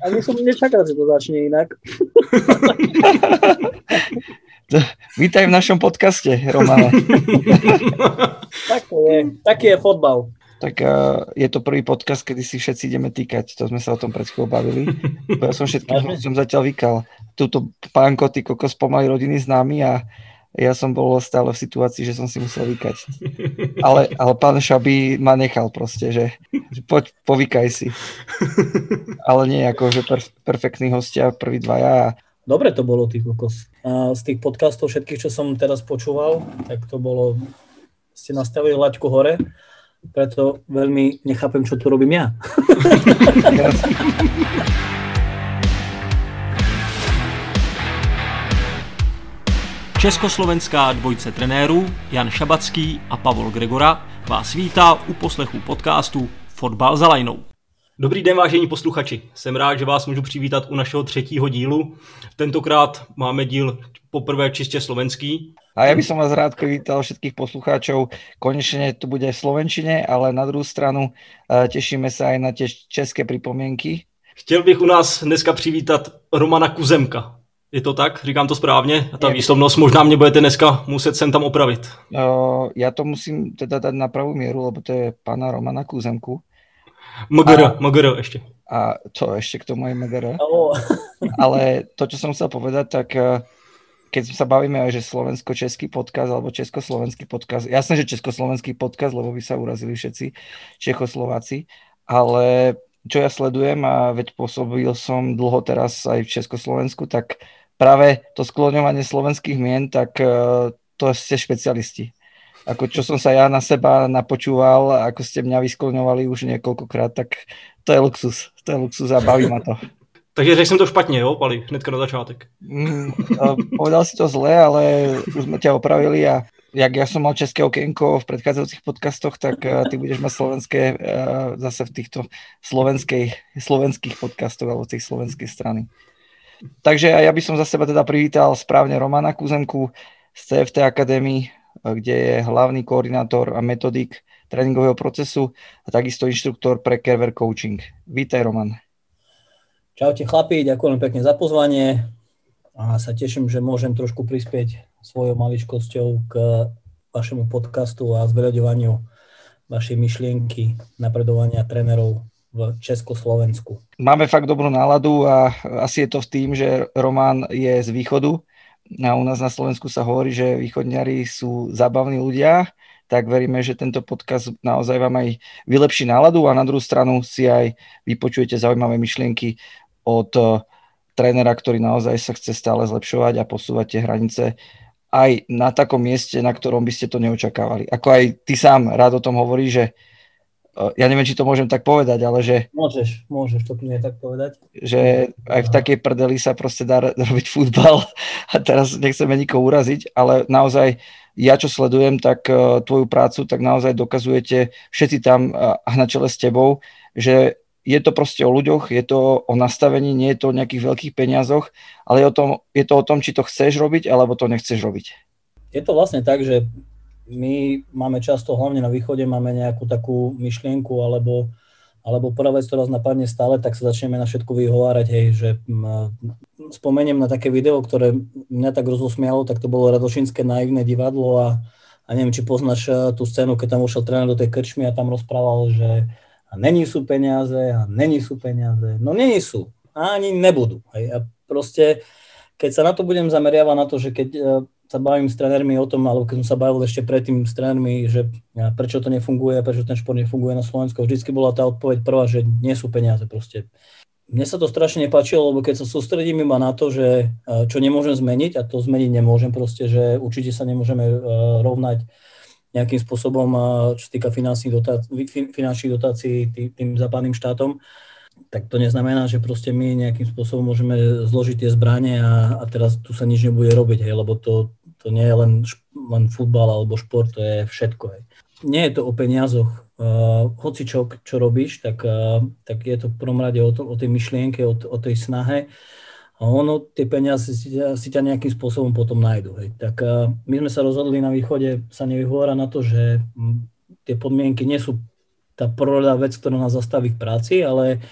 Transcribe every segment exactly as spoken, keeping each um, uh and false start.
Ani som nečakal, že to začne inak. Vítaj v našom podcaste, Romane. Tak to je. Taký je fotbal. Tak uh, je to prvý podcast, kedy si všetci ideme týkať. To sme sa o tom pred chvíľou bavili. Ja som všetkým som zatiaľ vykal. Túto pánko, ty kokos, pomaly rodiny známy a ja som bol stále v situácii, že som si musel vykať. Ale, ale pán Šaby ma nechal proste, že, že poď, povykaj si. Ale nie ako, že perf- perfektní hostia, prví dvaja. Dobre to bolo, ty kokos. A z tých podcastov všetkých, čo som teraz počúval, tak to bolo, ste nastavili laťku hore, preto veľmi nechápem, čo tu robím ja. Československá dvojce trenérů Jan Šabacký a Pavol Gregora vás vítá u poslechu podcastu Fotbal za lajnou. Dobrý den, vážení posluchači. Jsem rád, že vás můžu přivítat u našeho třetího dílu. Tentokrát máme díl poprvé čistě slovenský. A ja by som vás rád privítal všetkých poslucháčov. Konečne to bude v slovenčine, ale na druhou stranu tešíme sa aj na tie české pripomienky. Chtěl bych u nás dneska přivítat Romana Kuzemka. Je to tak? Říkám to správně? A ta je. Výslovnost možná mě budete dneska muset sem tam opravit. Uh, ja to musím teda dať na pravú mieru, lebo to je pána Romana Kuzemku. Mgr, Mgr ešte. A to ešte k tomu je Mgr. Oh. Ale to, čo som chcel povedať, tak keď sa bavíme aj, že slovensko-český podcast alebo československý podcast, jasné, že československý podcast, lebo by sa urazili všetci Čechoslováci, ale čo ja sledujem a veď pôsobil som dlho teraz aj v Československu, tak práve to skloňovanie slovenských mien, tak to ste špecialisti. Ako čo som sa ja na seba napočúval, ako ste mňa vyskloňovali už niekoľkokrát, tak to je luxus. To je luxus a baví ma to. Takže řekl jsem to špatně, jo, Pali, hnedka na začátek. Mm, povedal si to zle, ale už sme ťa opravili a jak ja som mal české okienko v predchádzajúcich podcastoch, tak uh, ty budeš mať slovenské uh, zase v týchto slovenskej, slovenských podcastoch alebo z tej slovenskej strany. Takže ja by som za seba teda privítal správne Romana Kuzemku z C F T Academy, kde je hlavný koordinátor a metodik tréningového procesu a takisto inštruktor pre Kerver Coaching. Vítaj, Roman. Čaute chlapi, ďakujem pekne za pozvanie a sa teším, že môžem trošku prispieť svojou maličkosťou k vašemu podcastu a zveľaďovaniu vašej myšlienky napredovania trénerov v Československu. Máme fakt dobrú náladu a asi je to v tým, že Roman je z východu. A u nás na Slovensku sa hovorí, že východňari sú zábavní ľudia, tak veríme, že tento podcast naozaj vám aj vylepší náladu a na druhú stranu si aj vypočujete zaujímavé myšlienky od trénera, ktorý naozaj sa chce stále zlepšovať a posúvať tie hranice aj na takom mieste, na ktorom by ste to neočakávali. Ako aj ty sám rád o tom hovoríš, že ja neviem, či to môžem tak povedať, ale že... Môžeš, môžeš to kľudne tak povedať. Že aj v takej prdeli sa proste dá robiť futbal a teraz nechceme nikoho uraziť, ale naozaj ja, čo sledujem, tak uh, tvoju prácu, tak naozaj dokazujete všetci tam uh, na čele s tebou, že je to proste o ľuďoch, je to o nastavení, nie je to o nejakých veľkých peniazoch, ale je, o tom, je to o tom, či to chceš robiť, alebo to nechceš robiť. Je to vlastne tak, že my máme často, hlavne na východe, máme nejakú takú myšlienku, alebo, alebo prvá vec, ktorá nás napadne stále, tak sa začneme na všetko vyhovárať, hej, že m, spomeniem na také video, ktoré mňa tak rozosmialo, tak to bolo Radošinské naivné divadlo a, a neviem, či poznáš tú scénu, keď tam ušiel tréner do tej krčmy a tam rozprával, že a není sú peniaze, a není sú peniaze, no není sú, a ani nebudú, hej, a proste, keď sa na to budem zameriavať na to, že keď sa bavím s trénermi o tom, alebo keď som sa bavil ešte predtým s trénermi, že prečo to nefunguje, prečo ten šport nefunguje na Slovensku, vždycky bola tá odpoveď prvá, že nie sú peniaze proste. Mne sa to strašne nepáčilo, lebo keď sa sústredím iba na to, že čo nemôžem zmeniť, a to zmeniť nemôžem proste, že určite sa nemôžeme rovnať nejakým spôsobom, čo sa týka finančných dotácií, finančných dotácií tým západným štátom, tak to neznamená, že proste my nejakým spôsobom môžeme zložiť tie zbrane a, a teraz tu sa nič nebude robiť, hej, lebo to, to nie je len, len futbal alebo šport, to je všetko. Hej. Nie je to o peniazoch. Uh, hoci čo, čo robíš, tak, uh, tak je to v prvom rade o, to, o tej myšlienke, o, o tej snahe. A ono, tie peniaze si ťa, si ťa nejakým spôsobom potom nájdu. Hej. Tak uh, my sme sa rozhodli na východe sa nevyhovárať na to, že m, tie podmienky nie sú tá prvorada vec, ktorá nás zastaví v práci, ale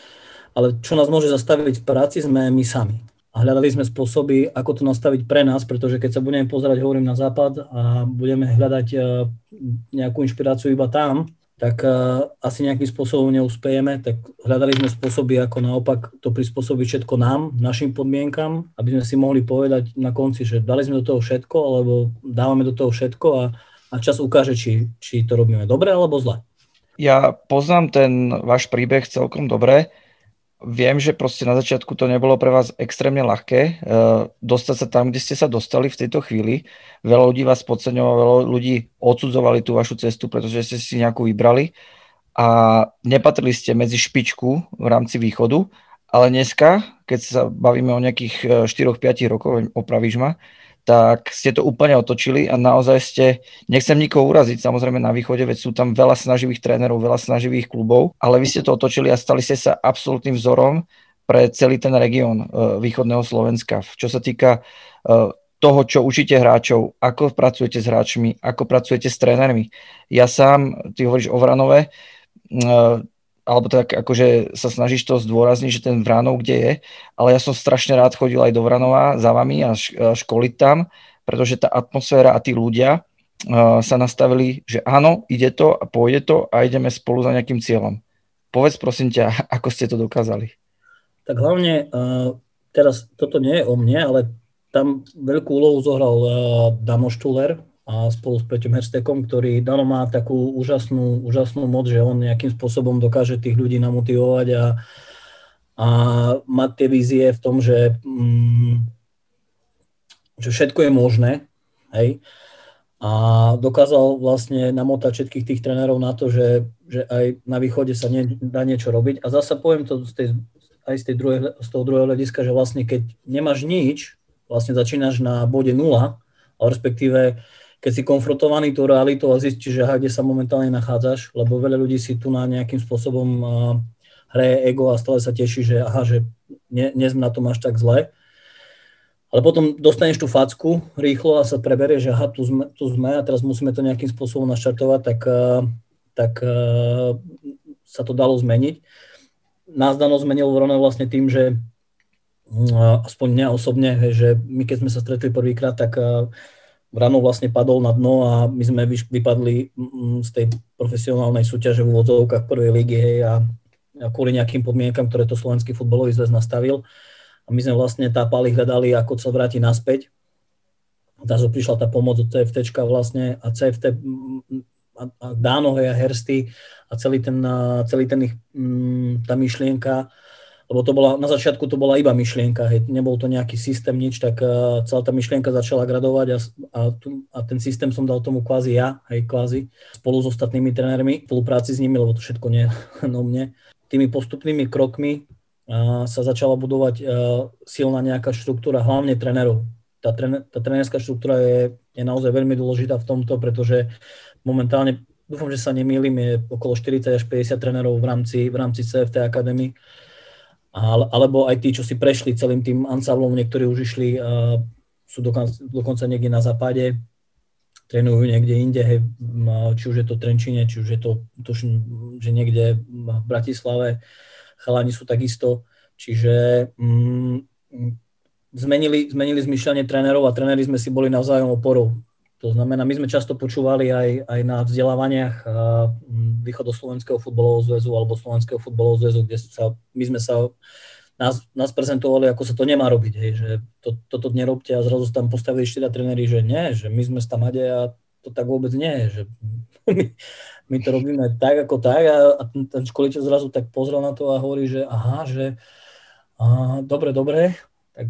ale čo nás môže zastaviť v práci, sme my sami. A hľadali sme spôsoby, ako to nastaviť pre nás, pretože keď sa budeme pozerať, hovorím, na západ a budeme hľadať nejakú inšpiráciu iba tam, tak asi nejakým spôsobom neúspejeme, tak hľadali sme spôsoby, ako naopak to prispôsobiť všetko nám, našim podmienkam, aby sme si mohli povedať na konci, že dali sme do toho všetko, alebo dávame do toho všetko a, a čas ukáže, či, či to robíme dobre alebo zle. Ja poznám ten váš príbeh celkom dobre. Viem, že proste na začiatku to nebolo pre vás extrémne ľahké uh, dostať sa tam, kde ste sa dostali v tejto chvíli. Veľa ľudí vás podceňovalo, veľa ľudí odsudzovali tú vašu cestu, pretože ste si nejakú vybrali a nepatrili ste medzi špičku v rámci východu, ale dneska, keď sa bavíme o nejakých štyri až päť rokov, opravíš ma, tak ste to úplne otočili a naozaj ste, nechcem nikoho uraziť, samozrejme na východe, veď sú tam veľa snaživých trénerov, veľa snaživých klubov, ale vy ste to otočili a stali ste sa absolútnym vzorom pre celý ten región uh, východného Slovenska. Čo sa týka uh, toho, čo učíte hráčov, ako pracujete s hráčmi, ako pracujete s trénermi. Ja sám, ty hovoríš o Vranove, uh, alebo tak akože sa snažíš to zdôrazniť, že ten Vranov kde je, ale ja som strašne rád chodil aj do Vranova za vami a školiť tam, pretože tá atmosféra a tí ľudia uh, sa nastavili, že áno, ide to a pôjde to a ideme spolu za nejakým cieľom. Povedz prosím ťa, ako ste to dokázali. Tak hlavne, uh, teraz toto nie je o mne, ale tam veľkú úlohu zohral uh, Dano Štuler, a spolu s Peťom Herstekom, ktorý Dano má takú úžasnú, úžasnú moc, že on nejakým spôsobom dokáže tých ľudí namotivovať a, a mať tie vízie v tom, že, mm, že všetko je možné, hej. A dokázal vlastne namotať všetkých tých trénerov na to, že, že aj na východe sa nie, dá niečo robiť. A zasa poviem to z tej, aj z, tej druhej, z toho druhého hľadiska, že vlastne keď nemáš nič, vlastne začínaš na bode nula, ale respektíve keď si konfrontovaný tú realitou a zistíš, že aha, kde sa momentálne nachádzaš, lebo veľa ľudí si tu na nejakým spôsobom uh, hraje ego a stále sa teší, že aha, že nie, nie sme na tom až tak zle. Ale potom dostaneš tú facku rýchlo a sa preberie, že aha, tu sme, tu sme a teraz musíme to nejakým spôsobom naštartovať, tak, uh, tak uh, sa to dalo zmeniť. Nás Dano zmenil v Rone vlastne tým, že uh, aspoň mňa osobne, že my keď sme sa stretli prvýkrát, tak uh, Vranov vlastne padol na dno a my sme vypadli z tej profesionálnej súťaže v úvodzovkách prvej ligy, hej, a, a kvôli nejakým podmienkam, ktoré to Slovenský futbalový zväz nastavil. A my sme vlastne tápali, hľadali, ako sa vrátiť naspäť. Takže prišla tá pomoc od C F Tčka vlastne a C F T a, a Dáno, hej, a Hersty a celý ten, celý ten ich, tá myšlienka, lebo to bola, na začiatku to bola iba myšlienka, hej, nebol to nejaký systém, nič, tak uh, celá tá myšlienka začala gradovať a, a, tu, a ten systém som dal tomu kvázi ja, hej, kvázi, spolu s ostatnými trénermi, v spolupráci s nimi, lebo to všetko nie no mne. Tými postupnými krokmi uh, sa začala budovať uh, silná nejaká štruktúra, hlavne trénerov. Tá, trener, tá trénerská štruktúra je, je naozaj veľmi dôležitá v tomto, pretože momentálne, dúfam, že sa nemýlim, je okolo štyridsať až päťdesiat trénerov v rámci, v rámci C F T Academy. Alebo aj tí, čo si prešli celým tým ansáblom, niektorí už išli, uh, sú dokonca, dokonca niekde na západe, trénujú niekde inde, hej, či už je to v Trenčíne, či už je to, tuším, že niekde v Bratislave, chalani sú takisto, čiže um, zmenili, zmenili zmyšľanie trénerov a tréneri sme si boli navzájom oporou. To znamená, my sme často počúvali aj, aj na vzdelávaniach Východoslovenského futbalového zväzu alebo Slovenského futbalového zväzu, kde sa, my sme sa, nás, nás prezentovali, ako sa to nemá robiť, hej, že to, toto nerobte a zrazu tam postavili štyria tréneri, že nie, že my sme z Tamade a to tak vôbec nie je, že my, my to robíme tak ako tak a, a ten, ten školiteľ zrazu tak pozrel na to a hovorí, že aha, že aha, dobre, dobre, tak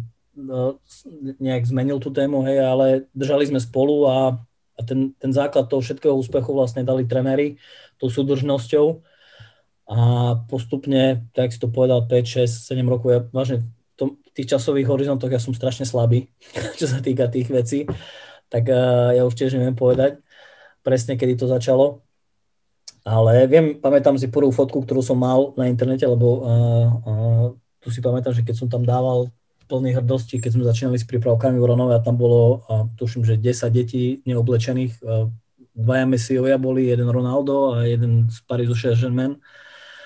nejak zmenil tú tému, hej, ale držali sme spolu a, a ten, ten základ toho všetkého úspechu vlastne dali tréneri tou súdržnosťou a postupne, tak si to povedal, päť, šesť, sedem rokov, ja vážne v, tom, v tých časových horizontoch ja som strašne slabý, čo sa týka tých vecí, tak uh, ja už tiež neviem povedať presne, kedy to začalo, ale viem, pamätám si prvú fotku, ktorú som mal na internete, lebo uh, uh, tu si pamätám, že keď som tam dával plný hrdosti, keď sme začínali s prípravkami v Ronove a tam bolo, a tuším, že desať detí neoblečených, dvaja Messiovia boli, jeden Ronaldo a jeden z Parisu Saint-Germain.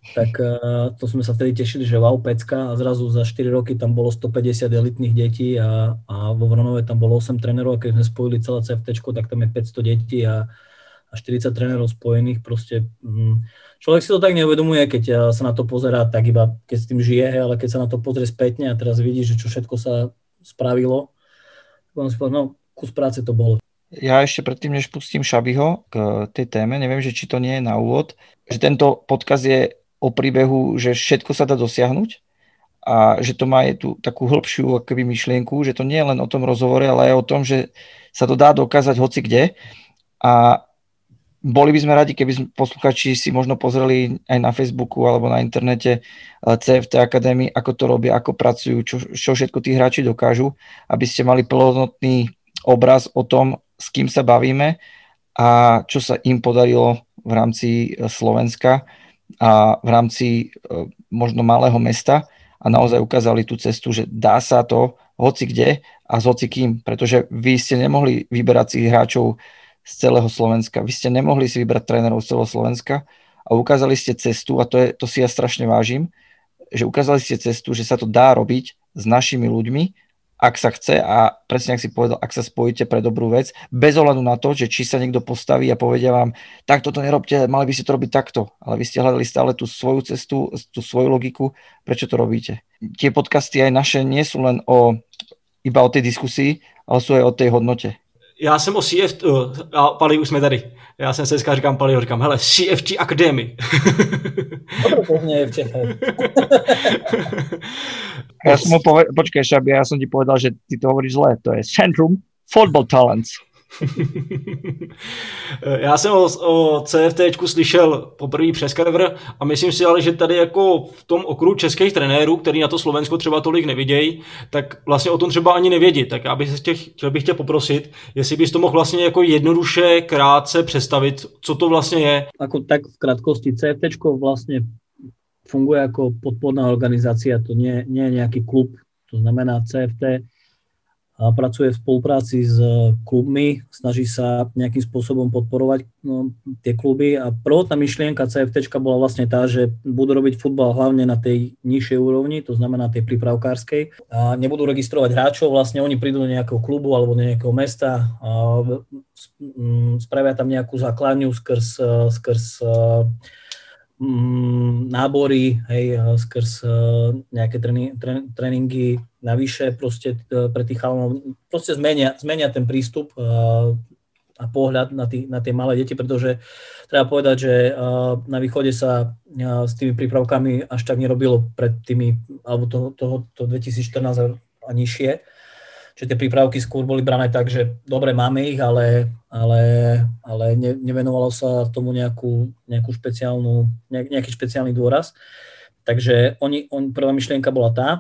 tak to sme sa vtedy tešili, že wow, pecka, a zrazu za štyri roky tam bolo stopäťdesiat elitných detí a, a vo Vronove tam bolo osem trénerov, a keď sme spojili celé cé ef téčko, tak tam je päťsto detí a, a štyridsať trénerov spojených. Proste hm, človek si to tak neuvedomuje, keď sa na to pozerá, tak iba keď s tým žije, ale keď sa na to pozrie spätne a teraz vidí, že čo všetko sa spravilo, potom si povedal, no kus práce to bolo. Ja ešte predtým, než pustím Šabiho k tej téme, neviem, že či to nie je na úvod, že tento podcast je o príbehu, že všetko sa dá dosiahnuť a že to má aj tú takú hĺbšiu akoby myšlienku, že to nie je len o tom rozhovore, ale aj o tom, že sa to dá dokázať hoci kde. A boli by sme radi, keby posluchači si možno pozreli aj na Facebooku alebo na internete cé ef té Academy, ako to robia, ako pracujú, čo, čo všetko tí hráči dokážu, aby ste mali plnohodnotný obraz o tom, s kým sa bavíme a čo sa im podarilo v rámci Slovenska a v rámci možno malého mesta a naozaj ukázali tú cestu, že dá sa to hoci kde a s hoci kým, pretože vy ste nemohli vyberať si hráčov z celého Slovenska, vy ste nemohli si vybrať trénerov z celého Slovenska a ukázali ste cestu, a to, je, to si ja strašne vážim, že ukázali ste cestu, že sa to dá robiť s našimi ľuďmi, ak sa chce, a presne ak si povedal, ak sa spojíte pre dobrú vec, bez ohľadu na to, že či sa niekto postaví a povedia vám, takto to nerobte, mali by ste to robiť takto, ale vy ste hľadali stále tú svoju cestu, tú svoju logiku, prečo to robíte. Tie podcasty aj naše nie sú len o, iba o tej diskusii, ale sú aj o tej hodnote. Já jsem o C F, uh, a Pali, už jsme tady. Já jsem se dneska říkám Paliho, říkám, hele, C F T Academy. To nie je v Čechách. Ja som mu povedal, počkaj, Šabi, ja som ti povedal, že ty to hovoríš zle, to je Centrum Football Talents. Já jsem o, o CFTčku slyšel poprvé přes Carver a myslím si ale, že tady jako v tom okruhu českých trenérů, který na to Slovensko třeba tolik nevidějí, tak vlastně o tom třeba ani nevědí. Tak já bych tě, chtěl bych tě poprosit, jestli bys to mohl vlastně jako jednoduše, krátce představit, co to vlastně je. Ako tak v krátkosti, CFTčko vlastně funguje ako podporná organizácia, to nie, nie je nejaký klub, to znamená cé ef té a pracuje v spolupráci s klubmi, snaží sa nejakým spôsobom podporovať no, tie kluby a prvotná myšlienka CFTčka bola vlastne tá, že budú robiť futbal hlavne na tej nižšej úrovni, to znamená tej prípravkárskej a nebudú registrovať hráčov, vlastne oni prídu do nejakého klubu alebo do nejakého mesta a spravia tam nejakú základňu skrz, skrz nábory, hej, skrz nejaké tréning, tréningy navyše proste pre tých chalanov, proste zmenia, zmenia ten prístup a pohľad na, tý, na tie malé deti, pretože treba povedať, že na východe sa s tými prípravkami až tak nerobilo pred tými, alebo toho, toho, toho dvetisícštrnásť a nižšie. Čiže tie prípravky skôr boli brané tak, že dobre, máme ich, ale, ale, ale ne, nevenovalo sa tomu nejakú, nejakú špeciálnu, nejaký špeciálny dôraz. Takže oni, on, prvá myšlienka bola tá.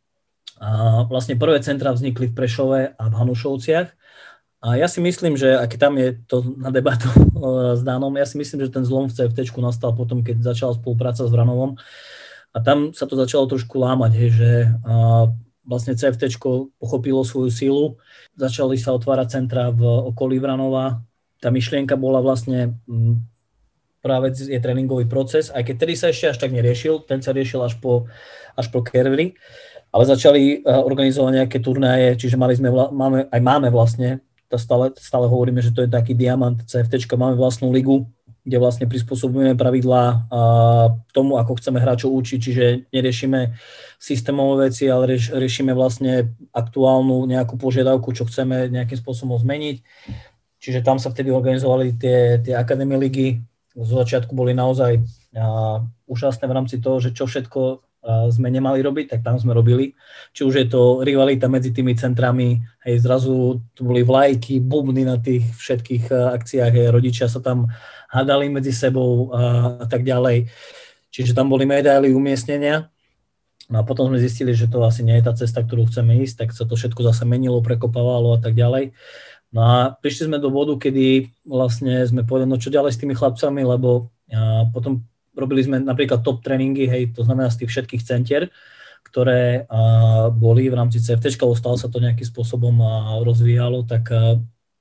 A vlastne prvé centra vznikli v Prešove a v Hanušovciach. A ja si myslím, že ak tam je to na debatu s Dánom, ja si myslím, že ten zlom v CFTčku nastal potom, keď začala spolupráca s Vranovom. A tam sa to začalo trošku lámať, hej, že a, vlastne CFTčko pochopilo svoju sílu, začali sa otvárať centra v okolí Vranova. Tá myšlienka bola vlastne, prvá vec je tréningový proces, aj keď tedy sa ešte až tak neriešil, ten sa riešil až po, až po Kerveri, ale začali organizovať nejaké turnaje, čiže mali sme, máme, aj máme vlastne, stále, stále hovoríme, že to je taký diamant CFTčka, máme vlastnú ligu, kde vlastne prispôsobujeme pravidlá tomu, ako chceme hráčov učiť, čiže neriešime systémové veci, ale rieš, riešime vlastne aktuálnu nejakú požiadavku, čo chceme nejakým spôsobom zmeniť. Čiže tam sa vtedy organizovali tie, tie akadémie ligy. Z začiatku boli naozaj a, úžasné v rámci toho, že čo všetko a, sme nemali robiť, tak tam sme robili. Či už je to rivalita medzi tými centrami, hej, zrazu tu boli vlajky, bubny na tých všetkých a, akciách, hej, rodičia sa tam hádali medzi sebou a, a tak ďalej. Čiže tam boli medaily, umiestnenia. No a potom sme zistili, že to asi nie je tá cesta, ktorú chceme ísť, tak sa to všetko zase menilo, prekopávalo a tak ďalej. No a prišli sme do bodu, kedy vlastne sme povedali, no čo ďalej s tými chlapcami, lebo a potom robili sme napríklad top tréningy, hej, to znamená z tých všetkých centier, ktoré a, boli v rámci CFTčka, stále sa to nejakým spôsobom a, rozvíjalo, tak a,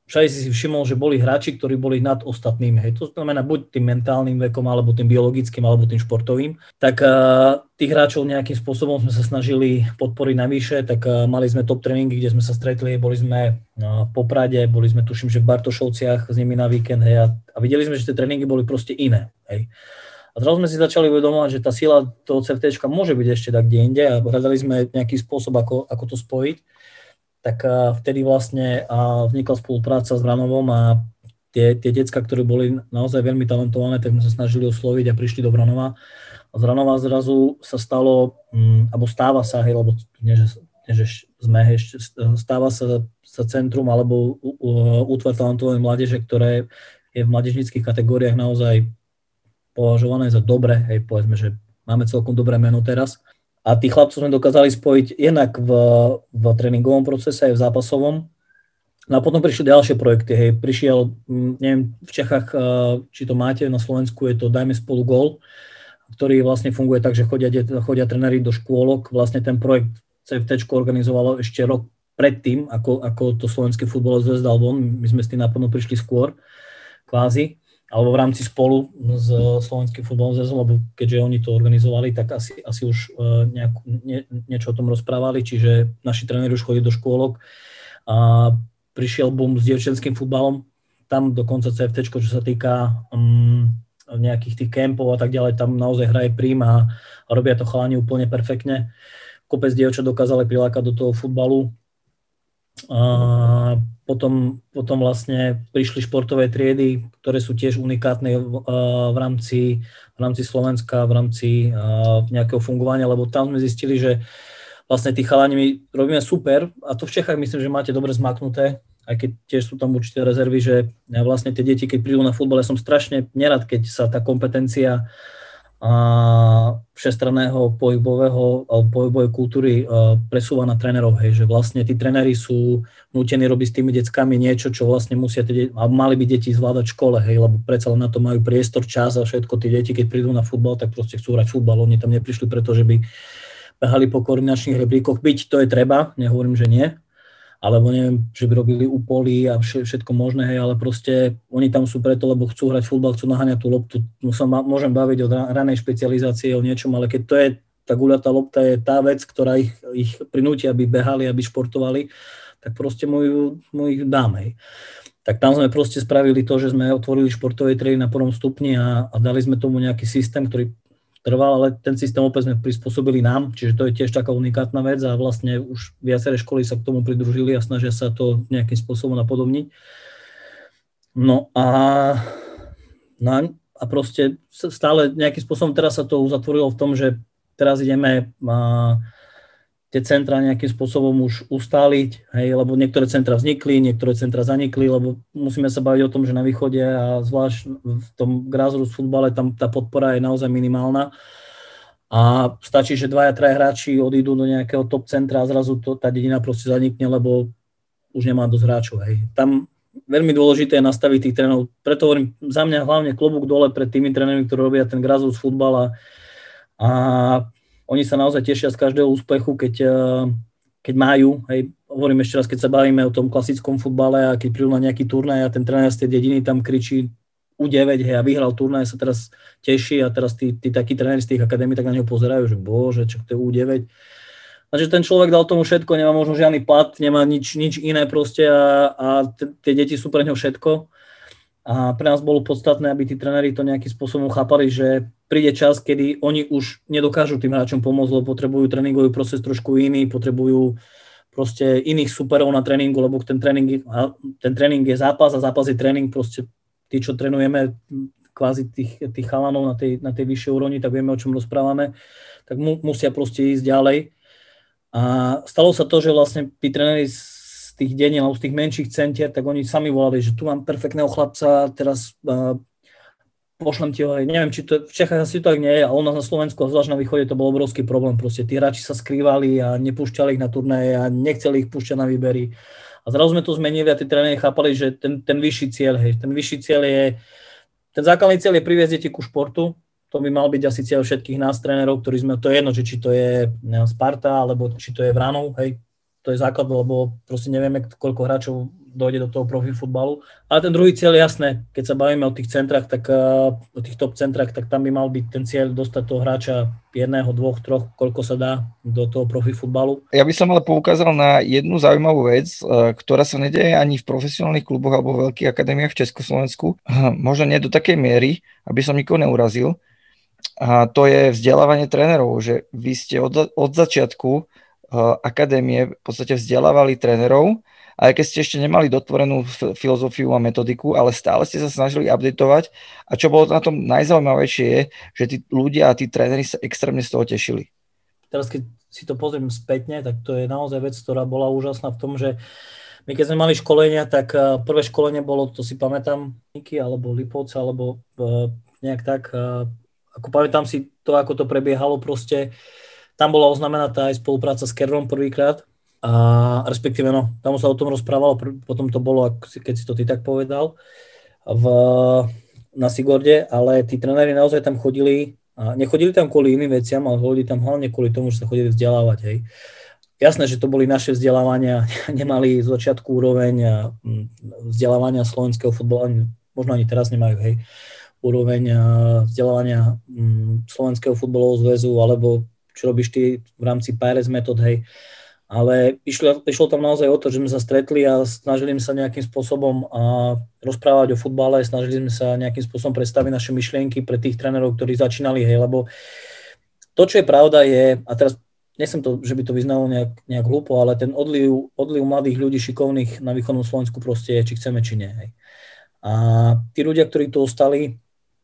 všade si si všimol, že boli hráči, ktorí boli nad ostatnými. Hej. To znamená buď tým mentálnym vekom, alebo tým biologickým, alebo tým športovým. Tak uh, tých hráčov nejakým spôsobom sme sa snažili podporiť navyše, tak uh, mali sme top tréningy, kde sme sa stretli, boli sme uh, v Poprade, boli sme tuším, že v Bartošovciach s nimi na víkend, hej, a, a videli sme, že tie tréningy boli proste iné. Hej. A zrazu sme si začali uvedomovať, že tá sila toho CFTčka môže byť ešte tak kde inde a hľadali sme nejaký spôsob, ako, ako to spojiť. Tak vtedy vlastne vznikla spolupráca s Vranovom a tie, tie decká, ktoré boli naozaj veľmi talentované, tak sme sa snažili osloviť a prišli do Vranova. A z Vranova zrazu sa stalo, um, alebo stáva sa, hej, lebo nie, že, nie, že sme, hej, stáva sa, sa centrum alebo útvar talentovej mládeže, ktoré je v mládežníckych kategóriách naozaj považované za dobré, hej, povedzme, že máme celkom dobré meno teraz. A tých chlapcov sme dokázali spojiť jednak v, v tréningovom procese, aj v zápasovom. No a potom prišli ďalšie projekty. Hej. Prišiel, neviem, v Čechách, či to máte, na Slovensku je to Dajme spolu gól, ktorý vlastne funguje tak, že chodia, chodia tréneri do škôlok. Vlastne ten projekt CFTčko organizovalo ešte rok predtým, ako, ako to Slovenský futbalové zväz dal von. My sme s tým naplno prišli skôr, kvázi. Alebo v rámci spolu s Slovenským futbalovým zväzom, lebo keďže oni to organizovali, tak asi, asi už nejak, nie, niečo o tom rozprávali, čiže naši tréneri už chodili do škôlok a prišiel boom s dievčenským futbalom, tam dokonca CFTčko, čo sa týka um, nejakých tých kempov a tak ďalej, tam naozaj hraje prím a, a robia to chalani úplne perfektne. Kopec dievčat dokázali prilákať do toho futbalu. A potom, potom vlastne prišli športové triedy, ktoré sú tiež unikátne v, v, rámci, v rámci Slovenska, v rámci nejakého fungovania, lebo tam sme zistili, že vlastne tí chalani my robíme super a to v Čechách myslím, že máte dobre zmaknuté, aj keď tiež sú tam určité rezervy, že vlastne tie deti, keď prídu na futbal, ja som strašne nerad, keď sa tá kompetencia a všestranného pohybového alebo pohybovej kultúry uh, presúva na trénerov, hej, že vlastne tí tréneri sú nútení robiť s tými deckami niečo, čo vlastne musia tie deti, a mali by deti zvládať v škole, hej, lebo predsa len na to majú priestor, čas a všetko. Tí deti, keď prídu na futbal, tak proste chcú hrať futbal, oni tam neprišli preto, že by behali po koordinačných rebríkoch, byť to je treba, nehovorím, že nie, alebo neviem, že by robili úpoly a všetko možné, hej, ale proste oni tam sú preto, lebo chcú hrať futbal, chcú naháňať tú loptu. Môžem baviť o ranej špecializácii, o niečom, ale keď to je, tá guľatá lopta je tá vec, ktorá ich, ich prinúti, aby behali, aby športovali, tak proste mu ju, mu ich dám, hej. Tak tam sme proste spravili to, že sme otvorili športové triedy na prvom stupni a, a dali sme tomu nejaký systém, ktorý trval, ale ten systém opäť sme prispôsobili nám, čiže to je tiež taká unikátna vec a vlastne už viaceré školy sa k tomu pridružili a snažia sa to nejakým spôsobom napodobniť. No a, no a proste stále nejakým spôsobom teraz sa to uzatvorilo v tom, že teraz ideme a, tie centra nejakým spôsobom už ustáliť, hej, lebo niektoré centra vznikli, niektoré centra zanikli, lebo musíme sa baviť o tom, že na východe a zvlášť v tom grassroots futbale tam tá podpora je naozaj minimálna a stačí, že dvaja, traja hráči odídu do nejakého top centra a zrazu to, tá dedina proste zanikne, lebo už nemá dosť hráčov, hej. Tam veľmi dôležité je nastaviť tých trénerov, preto hovorím, za mňa hlavne klobúk dole pred tými trénermi, ktorí robia ten grassroots futbal a, a oni sa naozaj tešia z každého úspechu, keď, keď majú, hej, hovorím ešte raz, keď sa bavíme o tom klasickom futbale a keď prídu na nejaký turnaj a ten tréner z tej dediny tam kričí ú deväť, hej, a vyhral turnaj, sa teraz teší a teraz tí, tí takí tréneri z tých akadémií tak na neho pozerajú, že bože, čo to je ú deväť. Takže ten človek dal tomu všetko, nemá možno žiadny plat, nemá nič, nič iné proste a, a t- tie deti sú pre ňo všetko. A pre nás bolo podstatné, aby tí tréneri to nejakým spôsobom chápali, že príde čas, kedy oni už nedokážu tým hráčom pomôcť, lebo potrebujú tréningový proces trošku iný, potrebujú proste iných superov na tréningu, lebo ten tréning, ten tréning je zápas a zápas je tréning, proste tí, čo trénujeme kvázi tých, tých chalanov na tej, na tej vyššej úrovni, tak vieme, o čom rozprávame, tak mu, musia proste ísť ďalej. A stalo sa to, že vlastne tí tréneri tých dení, alebo z tých menších centier, tak oni sami volali, že tu mám perfektného chlapca, teraz uh, pošlem ti ho, neviem, či to v Čechách asi to tak nie je, ale u nás na Slovensku a zvlášť na východe to bol obrovský problém, proste tí hráči sa skrývali a nepúšťali ich na turnaje a nechceli ich púšťať na výbery. A zrazu sme to zmenili a tí tréneri chápali, že ten, ten vyšší cieľ, hej, ten vyšší cieľ je, ten základný cieľ je priviesť deti ku športu, to by mal byť asi cieľ všetkých nás trénerov, ktorí sme, to je jedno, že či to je Sparta, alebo či to je Vranov, hej, to je základ, lebo proste nevieme, koľko hráčov dojde do toho profi futbalu. Ale ten druhý cieľ je jasné, keď sa bavíme o tých centrách, tak o tých top centrách, tak tam by mal byť ten cieľ dostať toho hráča jedného, dvoch, troch, koľko sa dá do toho profi futbalu. Ja by som ale poukázal na jednu zaujímavú vec, ktorá sa nedeje ani v profesionálnych kluboch alebo v veľkých akadémiách v Československu. Možno nie do takej miery, aby som nikoho neurazil. A to je vzdelávanie trénerov, že vy ste od, od začiatku akadémie v podstate vzdelávali trénerov, aj keď ste ešte nemali dotvorenú filozofiu a metodiku, ale stále ste sa snažili updatovať a čo bolo na tom najzaujímavejšie je, že tí ľudia a tí tréneri sa extrémne z toho tešili. Teraz keď si to pozriem spätne, tak to je naozaj vec, ktorá bola úžasná v tom, že my keď sme mali školenia, tak prvé školenie bolo, to si pamätám, Niky alebo Lipovce, alebo nejak tak, ako pamätám si to, ako to prebiehalo proste. Tam bola oznamená tá aj spolupráca s Kerrom prvýkrát, a respektíve no, tam sa o tom rozprávalo, potom to bolo, keď si to ty tak povedal, v, na Sigorde, ale tí tréneri naozaj tam chodili, a nechodili tam kvôli iným veciam, ale chodili tam hlavne kvôli tomu, že sa chodili vzdelávať, hej. Jasné, že to boli naše vzdelávania, nemali z začiatku úroveň vzdelávania slovenského futbalu, možno ani teraz nemajú, hej, úroveň vzdelávania Slovenského futbalového zväzu, alebo čo robíš ty v rámci pé er es metód, hej. Ale išlo, išlo tam naozaj o to, že sme sa stretli a snažili sme sa nejakým spôsobom a, rozprávať o futbale, snažili sme sa nejakým spôsobom predstaviť naše myšlienky pre tých trénerov, ktorí začínali, hej, lebo to, čo je pravda je, a teraz nechcem to, že by to vyznalo nejak, nejak hlúpo, ale ten odliv, odliv mladých ľudí šikovných na východnom Slovensku proste je, či chceme, či nie, hej. A tí ľudia, ktorí tu ostali,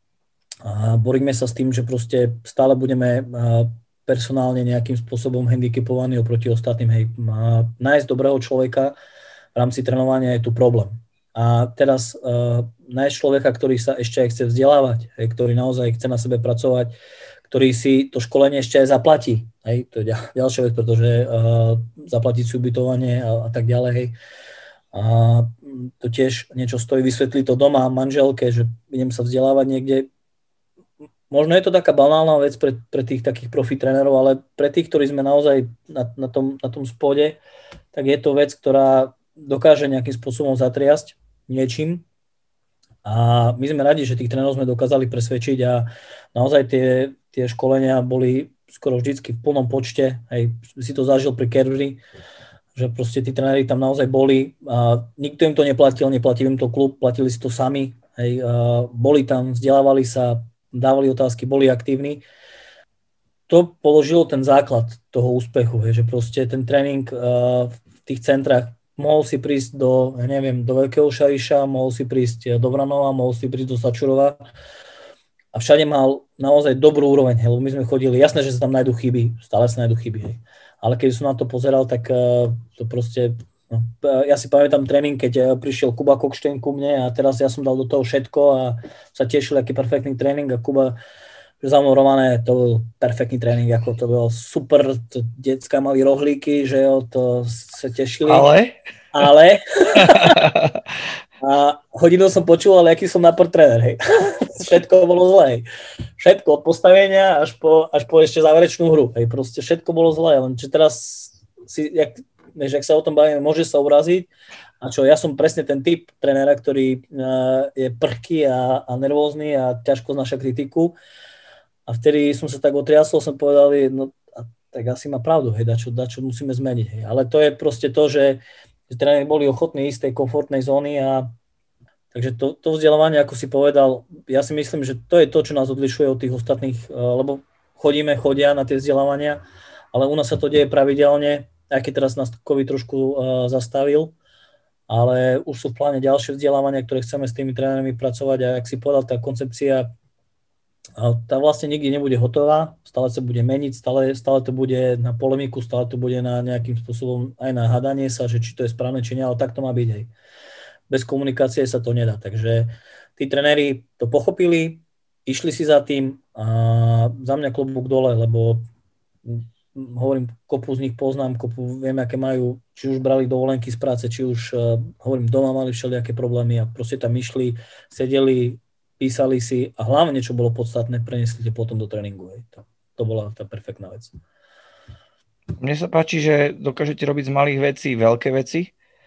a boríme sa s tým, že proste stále budeme personálne nejakým spôsobom handicapovaní oproti ostatným. Hej, nájsť dobrého človeka v rámci trénovania je tu problém. A teraz uh, nájsť človeka, ktorý sa ešte aj chce vzdelávať, hej, ktorý naozaj chce na sebe pracovať, ktorý si to školenie ešte aj zaplatí. Hej, to je ďalšia vec, pretože uh, zaplatiť si ubytovanie a, a tak ďalej. Hej. A to tiež niečo stojí, vysvetliť to doma manželke, že idem sa vzdelávať niekde. Možno je to taká banálna vec pre, pre tých takých profi trénerov, ale pre tých, ktorí sme naozaj na, na, tom, na tom spode, tak je to vec, ktorá dokáže nejakým spôsobom zatriasť niečím. A my sme radi, že tých trénerov sme dokázali presvedčiť a naozaj tie, tie školenia boli skoro vždycky v plnom počte. Hej, si to zažil pri Kerry, že proste tí tréneri tam naozaj boli a nikto im to neplatil, neplatil im to klub, platili si to sami. Hej, a boli tam, vzdelávali sa, dávali otázky, boli aktívni. To položilo ten základ toho úspechu, hej, že proste ten tréning uh, v tých centrách mohol si prísť do, ja neviem, do Veľkého Šariša, mohol si prísť do Vranova, mohol si prísť do Sačurova a všade mal naozaj dobrú úroveň, hej, lebo my sme chodili, jasné, že sa tam nájdú chyby, stále sa nájdú chyby, hej. Ale keď som na to pozeral, tak uh, to proste, no, ja si pamätám tréning, keď prišiel Kuba Kokšteň ku mne a teraz ja som dal do toho všetko a sa tešil, aký perfektný tréning a Kuba, že za mnou Romane, to bol perfektný tréning, ako to bol super, to decká mali rohlíky, že jo, to sa tešili. Ale? Ale. A hodinu som počul, ale aký som napor tréner, hej. Všetko bolo zlé, hej. Všetko od postavenia až po, až po ešte záverečnú hru, hej. Proste všetko bolo zlé, len či teraz si, jak, než ak sa o tom bavíme, môže sa uraziť. A čo, ja som presne ten typ trénera, ktorý uh, je prchký a, a nervózny a ťažko znáša kritiku. A vtedy som sa tak otriasol, som povedal, no tak asi má pravdu, hej, dačo, dačo musíme zmeniť. Hej. Ale to je proste to, že, že tréneri boli ochotní ísť z tej komfortnej zóny a takže to, to vzdelávanie, ako si povedal, ja si myslím, že to je to, čo nás odlišuje od tých ostatných, lebo chodíme, chodia na tie vzdelávania, ale u nás sa to deje pravidelne, aj keď teraz nás COVID trošku uh, zastavil, ale už sú v pláne ďalšie vzdelávania, ktoré chceme s tými trénermi pracovať a ak si povedal, tá koncepcia tá vlastne nikdy nebude hotová, stále sa bude meniť, stále, stále to bude na polemiku, stále to bude na nejakým spôsobom aj na hádanie sa, že či to je správne, či nie, ale tak to má byť, hej. Bez komunikácie sa to nedá, takže tí trenéri to pochopili, išli si za tým a za mňa klobúk dole, lebo hovorím, kopu z nich poznám, kopu viem, aké majú, či už brali dovolenky z práce, či už, hovorím, doma mali všelijaké problémy a proste tam išli, sedeli, písali si a hlavne, čo bolo podstatné, preniesli to potom do tréningu. Hej. To, to bola tá perfektná vec. Mne sa páči, že dokážete robiť z malých vecí veľké veci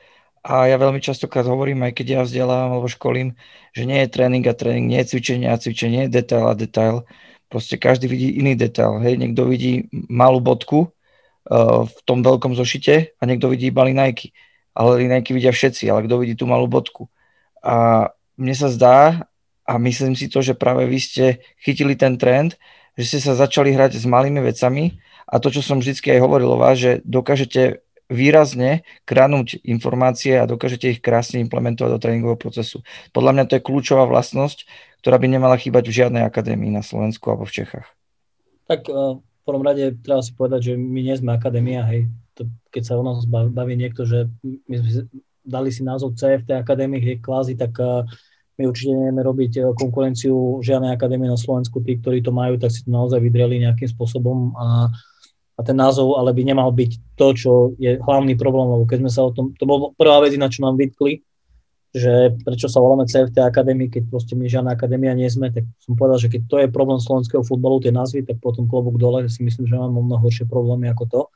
A ja veľmi častokrát hovorím, aj keď ja vzdelávam alebo školím, že nie je tréning a tréning, nie je cvičenie a cvičenie, nie je detail a detail. Proste každý vidí iný detail. Hej. Niekto vidí malú bodku uh, v tom veľkom zošite a niekto vidí iba linajky. Ale linajky vidia všetci, ale kto vidí tú malú bodku. A mne sa zdá, a myslím si to, že práve vy ste chytili ten trend, že ste sa začali hrať s malými vecami a to, čo som vždycky aj hovoril o vás, že dokážete výrazne kradnúť informácie a dokážete ich krásne implementovať do tréningového procesu. Podľa mňa to je kľúčová vlastnosť, ktorá by nemala chýbať v žiadnej akadémii na Slovensku alebo v Čechách. Tak v prvom rade treba si povedať, že my nie sme akadémia, hej. To, keď sa o nás baví niekto, že my sme dali si názov cé ef té akadémie, hej, kvázi, tak my určite nevieme robiť konkurenciu žiadnej akadémie na Slovensku. Tí, ktorí to majú, tak si to naozaj vydreli nejakým spôsobom a A ten názov ale by nemal byť to, čo je hlavný problém, lebo keď sme sa o tom, to bola prvá vec, na čo nám vytkli, že prečo sa voláme cé ef té Akadémie, keď proste my žiadna akadémia nie sme, tak som povedal, že keď to je problém slovenského futbalu, tie názvy, tak potom klobúk dole, si myslím, že máme mnoho horšie problémy ako to.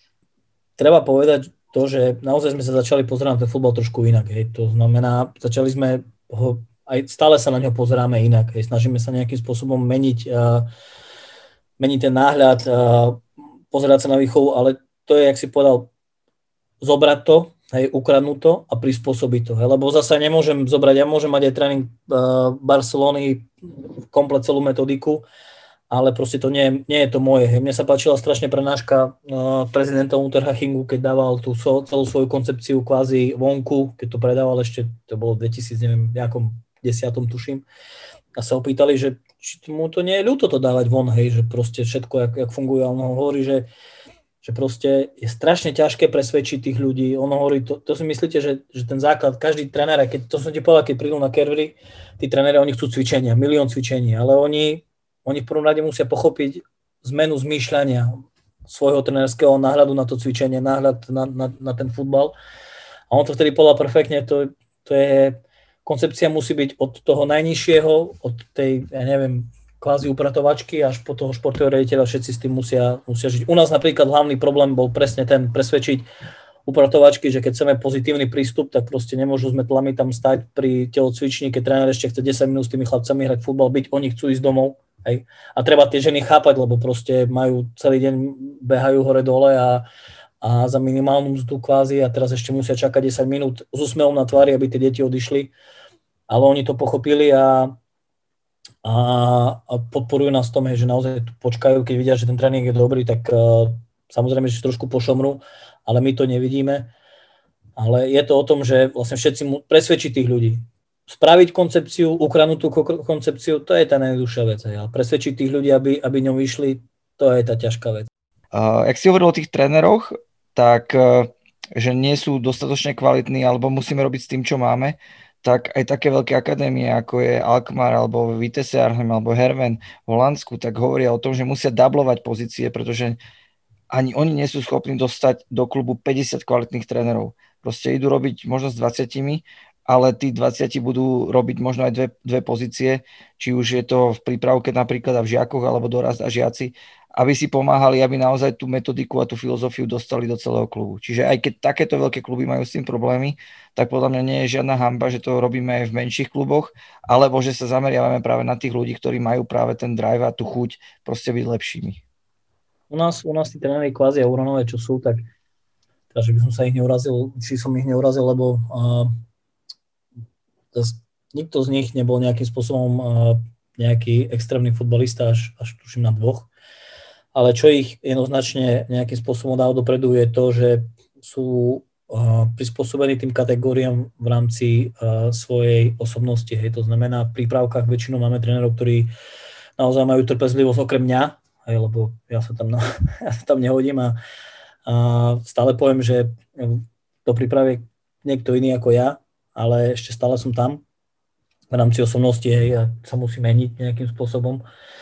Treba povedať to, že naozaj sme sa začali pozerať na ten futbal trošku inak, hej. To znamená, začali sme ho, aj stále sa na ňo pozeráme inak, hej. Snažíme sa nejakým spôsobom meniť, uh, meniť ten náhľad, uh, pozerať sa na výchovu, ale to je, jak si povedal, zobrať to, hej, ukradnúť to a prispôsobiť to. Hej, lebo zase nemôžem zobrať, ja môžem mať aj tréning uh, Barcelony, komplet celú metodiku, ale proste to nie, nie je to moje. Hej. Mne sa páčila strašne prednáška uh, prezidenta Unterhachingu, keď dával tú so, celú svoju koncepciu kvázi vonku, keď to predával ešte, to bolo dvetisíc, neviem, nejakom desiatom tuším, a sa opýtali, že či mu to nie je ľúto to dávať von, hej, že proste všetko, jak, jak funguje. A on hovorí, že, že proste je strašne ťažké presvedčiť tých ľudí. On hovorí, to, to si myslíte, že, že ten základ, každý tréner, keď, to som ti povedal, keď prídu na Kervery, tí tréneri, oni chcú cvičenia, milión cvičení, ale oni, oni v prvom rade musia pochopiť zmenu zmýšľania svojho trénerského náhľadu na to cvičenie, náhľad na, na, na ten futbal. A on to vtedy povedal perfektne, to, to je... Koncepcia musí byť od toho najnižšieho, od tej, ja neviem, kvázi upratovačky až po toho športového riaditeľa, všetci s tým musia, musia žiť. U nás napríklad hlavný problém bol presne ten presvedčiť upratovačky, že keď chceme pozitívny prístup, tak proste nemôžu sme tlami tam stať pri telocvični, keď tréner ešte chce desať minút s tými chlapcami hrať futbal, byť, oni chcú ísť domov. Hej. A treba tie ženy chápať, lebo proste majú celý deň, behajú hore-dole a a za minimálnu mzdu kvázi a teraz ešte musia čakať desať minút s úsmevom na tvári, aby tie deti odišli. Ale oni to pochopili a, a, a podporujú nás v tom, že naozaj tu počkajú, keď vidia, že ten tréning je dobrý, tak uh, samozrejme, že trošku pošomrú, ale my to nevidíme. Ale je to o tom, že vlastne všetci mu presvedčiť tých ľudí. Spraviť koncepciu, ukradnúť tú koncepciu, to je tá najjednoduchšia vec. Ale presvedčiť tých ľudí, aby, aby ňom vyšli, to je tá ťažká vec. Uh, jak si hovoril o tých tréneroch, tak že nie sú dostatočne kvalitní alebo musíme robiť s tým, čo máme, tak aj také veľké akadémie, ako je Alkmaar alebo Vitesse Arnhem alebo Herven v Holandsku, tak hovoria o tom, že musia dublovať pozície, pretože ani oni nie sú schopní dostať do klubu päťdesiat kvalitných trénerov. Proste idú robiť možno s dvadsiatimi, ale tí dvadsať budú robiť možno aj dve, dve pozície, či už je to v prípravke napríklad a v žiakoch alebo dorast a žiaci, aby si pomáhali, aby naozaj tú metodiku a tú filozofiu dostali do celého klubu. Čiže aj keď takéto veľké kluby majú s tým problémy, tak podľa mňa nie je žiadna hanba, že to robíme aj v menších kluboch, alebo že sa zameriavame práve na tých ľudí, ktorí majú práve ten drive a tú chuť proste byť lepšími. U nás, u nás tí tréneri kvázi Euronové, čo sú, tak takže by som sa ich neurazil, či som ich neurazil, lebo uh, zas, nikto z nich nebol nejakým spôsobom uh, nejaký extrémny futbalista, až, až tuším na dvoch. Ale čo ich jednoznačne nejakým spôsobom dá dopredu je to, že sú uh, prispôsobení tým kategóriám v rámci uh, svojej osobnosti. Hej. To znamená, v prípravkách väčšinou máme trénerov, ktorí naozaj majú trpezlivosť okrem mňa, hej, lebo ja sa tam, na, ja sa tam nehodím a, a stále poviem, že do prípravy niekto iný ako ja, ale ešte stále som tam v rámci osobnosti, hej, a sa musí meniť nejakým spôsobom.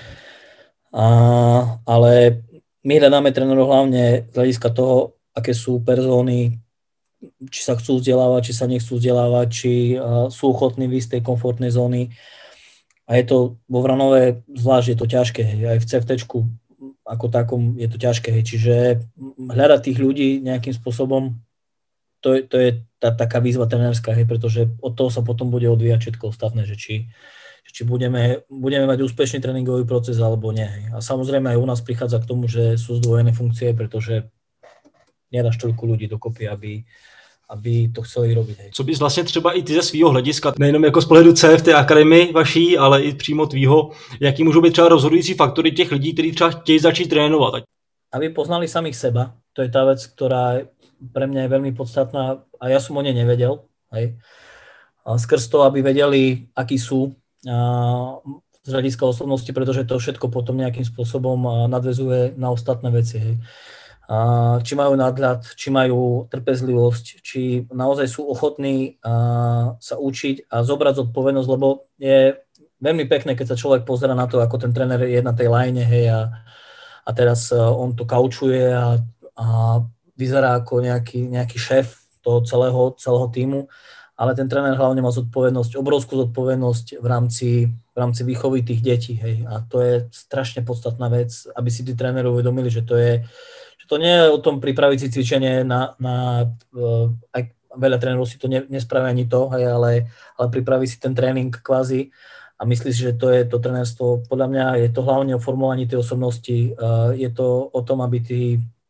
A, ale my hľadáme trénerov hlavne z hľadiska toho, aké sú persóny, či sa chcú vzdelávať, či sa nechcú vzdelávať, či uh, sú ochotní výjsť z tej komfortnej zóny. A je to vo Vranove zvlášť je to ťažké, hej, aj v cé ef téčku ako takom je to ťažké, hej, čiže hľadať tých ľudí nejakým spôsobom to, to je tá, taká výzva trenérska, hej, pretože od toho sa potom bude odvíjať všetko ostatné, že či, či budeme, budeme mať úspešný tréningový proces alebo nie. Hej. A samozrejme aj u nás prichádza k tomu, že sú zdvojené funkcie, pretože nedáš toľko ľudí dokopy, aby, aby to chceli robiť. Hej. Co bys vlastně třeba i ty ze svýho hlediska, nejenom jako z pohledu C F té akademii vaší, ale i přímo tvýho, jaký můžou být třeba rozhodující faktory těch lidí, kteří třeba chtějí začít trénovat? Aby poznali samých seba, to je tá vec, ktorá pre mňa je veľmi podstatná a ja som o nej nevedel. Hej. A skrz to, aby vedeli, akí sú a z hľadiska osobnosti, pretože to všetko potom nejakým spôsobom nadväzuje na ostatné veci. Hej. A či majú nadhľad, či majú trpezlivosť, či naozaj sú ochotní a, sa učiť a zobrať zodpovednosť, lebo je veľmi pekné, keď sa človek pozerá na to, ako ten tréner je na tej line, hej, a, a teraz on to kaučuje a, a vyzerá ako nejaký, nejaký šéf toho celého, celého tímu, ale ten tréner hlavne má zodpovednosť, obrovskú zodpovednosť v rámci, v rámci výchovy tých detí. Hej. A to je strašne podstatná vec, aby si tí tréneri uvedomili, že to je, že to nie je o tom pripraviť si cvičenie na, na aj veľa trénerov si to ne, nespraví ani to, hej, ale, ale pripraví si ten tréning kvázi a myslí si, že to je to trénerstvo. Podľa mňa je to hlavne o formovaní tej osobnosti, je to o tom, aby tí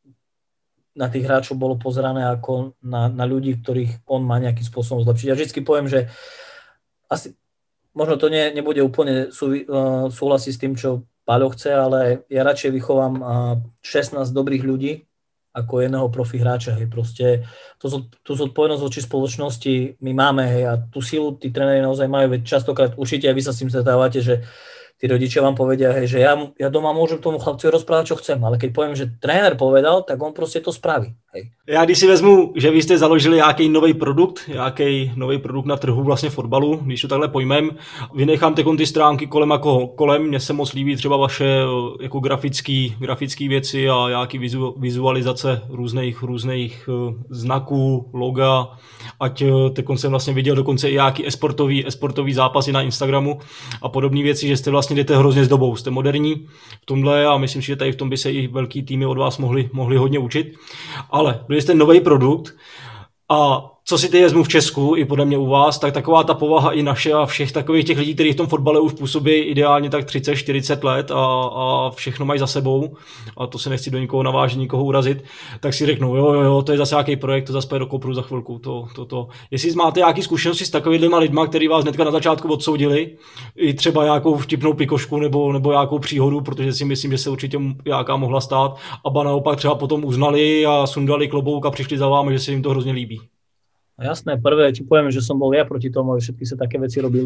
na tých hráčov bolo pozerané ako na, na ľudí, ktorých on má nejakým spôsobom zlepšiť. Ja vždycky poviem, že asi, možno to nie, nebude úplne sú, uh, súhlasiť s tým, čo Paľo chce, ale ja radšej vychovám uh, šestnásť dobrých ľudí ako jedného profi hráča. Hej. Proste tú, tú zodpovednosť voči spoločnosti my máme, hej, a tú silu tí tréneri naozaj majú, veď častokrát určite aj vy sa s tým stretávate, že tí rodičia vám povedia, hej, že ja, ja doma môžem tomu chlapcovi rozprávať, čo chcem, ale keď poviem, že tréner povedal, tak on proste to spraví. Hej. Já když si vezmu, že vy jste založili nějaký nový produkt, nějaký nový produkt na trhu vlastně fotbalu, když to takhle pojmem, vynechám teď ty stránky kolem jako kolem, mně se moc líbí třeba vaše jako grafický, grafický věci a nějaký vizu, vizualizace různých, různých znaků, loga, ať teď jsem vlastně viděl dokonce i nějaký esportový, esportový zápasy na Instagramu a podobné věci, že jste vlastně jdete hrozně s dobou, jste moderní v tomhle a myslím si, že tady v tom by se i velký týmy od vás mohli, mohli hodně učit. Ale byli jste nový produkt a co si teď vezmu v Česku i podle mě u vás, tak taková ta povaha i naše a všech takových těch lidí, kteří v tom fotbale už působí ideálně tak třicet čtyřicet let a, a všechno mají za sebou a to se nechci do nikoho navážit, nikoho urazit, tak si řeknou, jo, jo, jo, to je zase nějaký projekt, to zase půjde do kopru za chvilku, to, to, to. Jestli máte nějaké zkušenosti s takovými lidma, kteří vás hnedka na začátku odsoudili, i třeba nějakou vtipnou pikošku nebo, nebo nějakou příhodu, protože si myslím, že se určitě nějaká mohla stát, a ba naopak třeba potom uznali a sundali klobouk a přišli za vámi, že se jim to hrozně líbí. Jasné, prvé ti poviem, že som bol ja proti tomu, aby všetky sa také veci robili.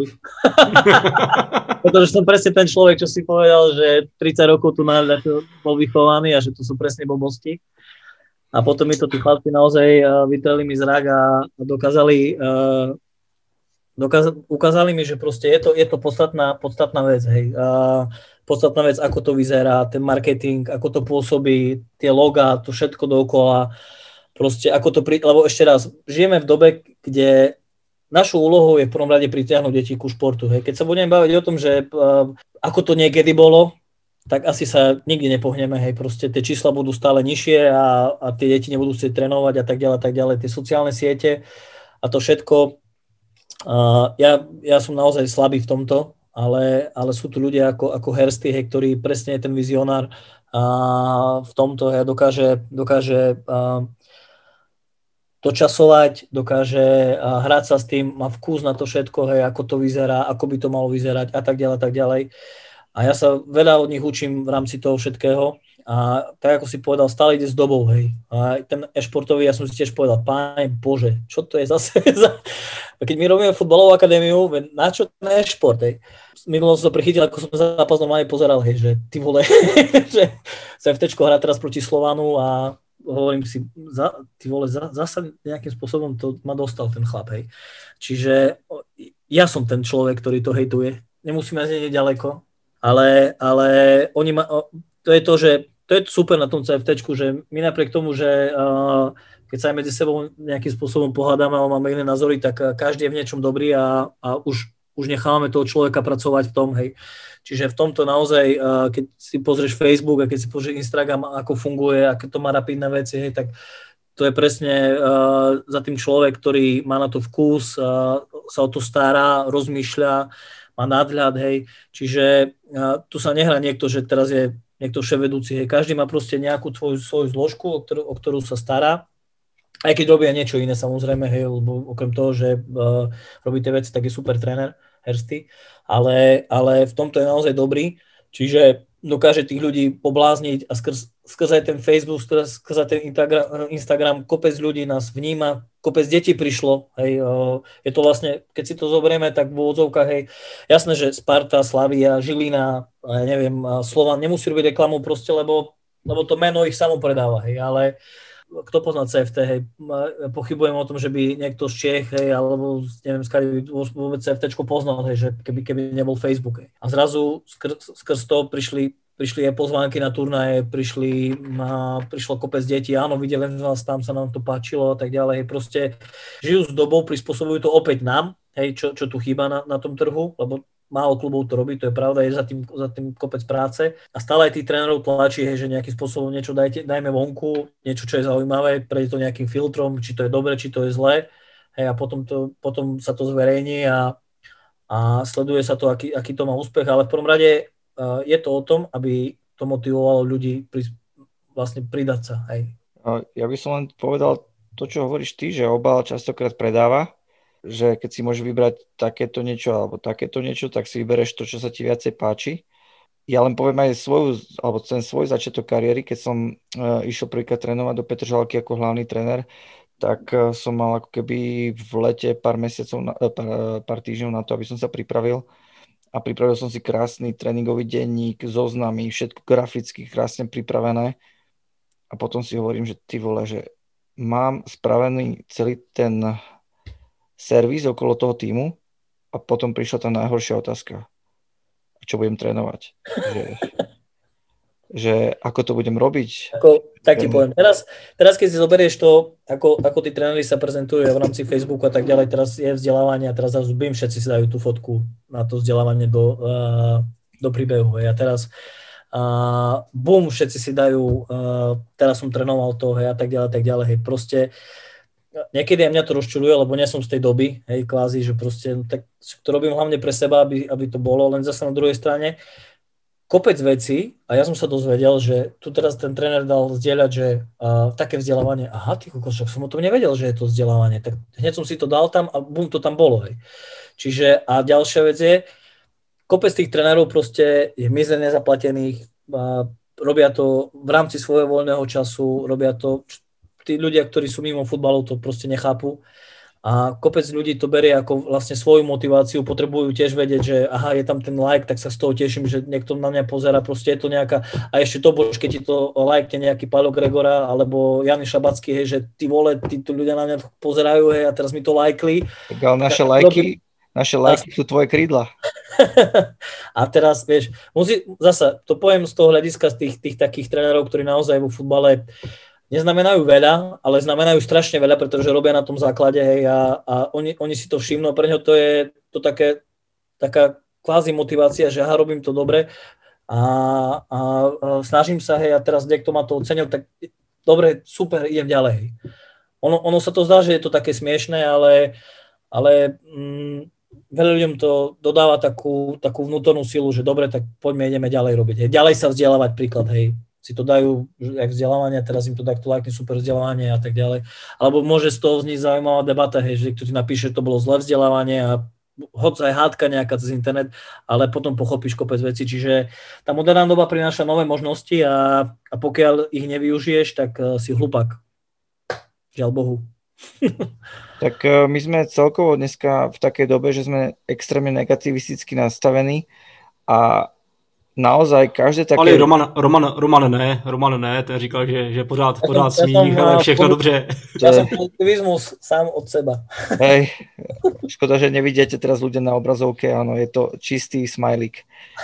Pretože som presne ten človek, čo si povedal, že tridsať rokov tu na, bol vychovaný a že to sú presne blbosti. A potom mi to tí chlapci naozaj vytreli mi zrak a dokázali, dokázali ukázali mi, že proste je to, je to podstatná, podstatná vec. Hej. Podstatná vec, ako to vyzerá, ten marketing, ako to pôsobí, tie logá, to všetko dookola. Proste ako to, pri... lebo ešte raz, žijeme v dobe, kde našou úlohou je v prvom rade pritiahnuť deti ku športu. Hej. Keď sa budeme baviť o tom, že uh, ako to niekedy bolo, tak asi sa nikdy nepohneme. Hej. Proste tie čísla budú stále nižšie a, a tie deti nebudú chcieť trénovať a tak ďalej, tak ďalej. Tie sociálne siete a to všetko. Uh, ja, ja som naozaj slabý v tomto, ale, ale sú tu ľudia ako, ako Hersty, hej, ktorý presne je ten vizionár uh, v tomto. Hej, dokáže, dokáže uh, dočasovať, dokáže hrať sa s tým, má vkus na to všetko, hej, ako to vyzerá, ako by to malo vyzerať a tak ďalej, tak ďalej. A ja sa veľa od nich učím v rámci toho všetkého a tak, ako si povedal, stále ide s dobou, hej. A ten e-športový, ja som si tiež povedal, Pane Bože, čo to je zase za... Keď my robíme futbalovú akadémiu, na čo ten e-šport, hej. Minulo som to prichytil, ako som zápas normálne pozeral, hej, že ty vole, že sa FTčko hrá teraz proti Slovanu a hovorím si, za, ty vole, za, zasa nejakým spôsobom to ma dostal ten chlap, hej. Čiže ja som ten človek, ktorý to hejtuje. Nemusíme ísť ďaleko, ale, ale oni ma, to je to, že to je super na tom CFTčku, že my napriek tomu, že uh, keď sa aj medzi sebou nejakým spôsobom pohádame a máme iné názory, tak každý je v niečom dobrý a, a už, už nechávame toho človeka pracovať v tom, hej. Čiže v tomto naozaj, keď si pozrieš Facebook a keď si pozrieš Instagram, ako funguje, aké to má rapidné veci, hej, tak to je presne uh, za tým človek, ktorý má na to vkus, uh, sa o to stará, rozmýšľa, má nadhľad, hej. Čiže uh, tu sa nehrá niekto, že teraz je niekto vševedúci, hej. Každý má proste nejakú tvoju, svoju zložku, o ktorú, o ktorú sa stará. Aj keď robia niečo iné, samozrejme, hej, lebo okrem toho, že uh, robí tie veci, tak je super tréner, Hersty, ale, ale v tomto je naozaj dobrý. Čiže dokáže tých ľudí poblázniť a skrz, skrz aj ten Facebook, skrz, skrz aj ten Instagram, kopec ľudí nás vníma, kopec detí prišlo, hej, je to vlastne, keď si to zoberieme, tak v úvodzovkách, hej, jasné, že Sparta, Slavia, Žilina, ja neviem, Slovan nemusí robiť reklamu proste, lebo, lebo to meno ich samo predáva, hej, ale kto pozná cé ef té, hej, pochybujem o tom, že by niekto z Čech, hej, alebo neviem, skade by vôbec cé ef téčko poznal, hej, že keby, keby nebol Facebook, hej. A zrazu skrz, skrz to prišli, prišli aj pozvánky na turnaje, prišli, a prišlo kopec detí, áno, videli nás tam, sa nám to páčilo a tak ďalej, hej, proste žijú s dobou, prispôsobujú to opäť nám, hej, čo, čo tu chýba na, na tom trhu, lebo málo klubov to robí, to je pravda, je za tým, za tým kopec práce a stále aj tých trénerov tlačí, hej, že nejakým spôsobom niečo dajte, dajme vonku, niečo, čo je zaujímavé, prejde to nejakým filtrom, či to je dobre, či to je zlé, hej, a potom, to, potom sa to zverejní a, a sleduje sa to, aký, aký to má úspech, ale v prvom rade uh, je to o tom, aby to motivovalo ľudí pri, vlastne pridať sa, hej. Ja by som len povedal to, čo hovoríš ty, že obal častokrát predáva, že keď si môžeš vybrať takéto niečo alebo takéto niečo, tak si vybereš to, čo sa ti viacej páči. Ja len poviem aj svoju, alebo ten svoj začiatok kariéry, keď som uh, išiel prvýkrát trénovať do Petržalky ako hlavný tréner, tak uh, som mal ako keby v lete pár mesiacov, na, uh, pár, pár týždňov na to, aby som sa pripravil. A pripravil som si krásny tréningový denník, zoznamy, všetko graficky krásne pripravené. A potom si hovorím, že ty vole, že mám spravený celý ten servis okolo toho týmu a potom prišla tá najhoršia otázka. Čo budem trénovať? Že, že ako to budem robiť? Ako, tak ti poviem. Teraz, teraz keď si zoberieš to, ako, ako tí tréneri sa prezentujú v rámci Facebooku a tak ďalej, teraz je vzdelávanie a teraz zase bim, všetci si dajú tú fotku na to vzdelávanie do, uh, do príbehu. A teraz uh, bum, všetci si dajú, uh, teraz som trénoval to, hej, a tak ďalej, tak ďalej. Hej. Proste niekedy aj mňa to rozčuľuje, lebo nie som z tej doby, hej, kvázi, že proste, no, tak to robím hlavne pre seba, aby, aby to bolo, len zase na druhej strane kopec vecí a ja som sa dozvedel, že tu teraz ten tréner dal zdieľať, že uh, také vzdelávanie, aha, ty kokos, som o tom nevedel, že je to vzdelávanie, tak hneď som si to dal tam a bum, to tam bolo, hej. Čiže a ďalšia vec je, kopec tých trénerov proste je mizerne zaplatených, uh, robia to v rámci svojho voľného času, robia to tí ľudia, ktorí sú mimo futbalu, to proste nechápu. A kopec ľudí to berie ako vlastne svoju motiváciu, potrebujú tiež vedieť, že aha, je tam ten like, tak sa z toho teším, že niekto na mňa pozerá, proste je to nejaká, a ešte to bož, keď ti to lajkne nejaký Paľo Gregora, alebo Jan Šabacký, hej, že ty vole, títo ľudia na mňa pozerajú, hej, a teraz mi to lajkli. Tak ale naše lajky, naše lajky sú tvoje krídla. A teraz, vieš, musí, zasa, to poviem z toho hľadiska z tých, tých takých trénerov, ktorí naozaj vo futbale neznamenajú veľa, ale znamenajú strašne veľa, pretože robia na tom základe, hej, a, a oni, oni si to všimnú, pre ňo to je to také, taká kvázi motivácia, že aha, robím to dobre a, a, a snažím sa, hej, a teraz niekto ma to ocenil, tak dobre, super, idem ďalej, hej. Ono, ono sa to zdá, že je to také smiešné, ale, ale mm, veľa ľuďom to dodáva takú, takú vnútornú silu, že dobre, tak poďme, ideme ďalej robiť, hej. Ďalej sa vzdelávať, príklad, hej. Si to dajú, jak vzdelávanie, teraz im to takto lajkne, super vzdelávanie a tak ďalej. Alebo môže z toho vzniť zaujímavá debata, hej, že kto ti napíše, že to bolo zlé vzdelávanie a hoď aj hádka nejaká cez internet, ale potom pochopíš kopec veci. Čiže tá moderná doba prináša nové možnosti a, a pokiaľ ich nevyužiješ, tak uh, si hlupák. Žiaľ Bohu. Tak uh, my sme celkovo dneska v takej dobe, že sme extrémne negativisticky nastavení a naozaj každé také... Ale Roman, Roman, Roman ne, Roman ne, ten říkal, že, že pořád, pořád smích, ale všechno po... dobře. Ja som pozitivizmus sám od seba. Hej, škoda, že nevidíte teraz ľudia na obrazovke, áno, je to čistý smajlík.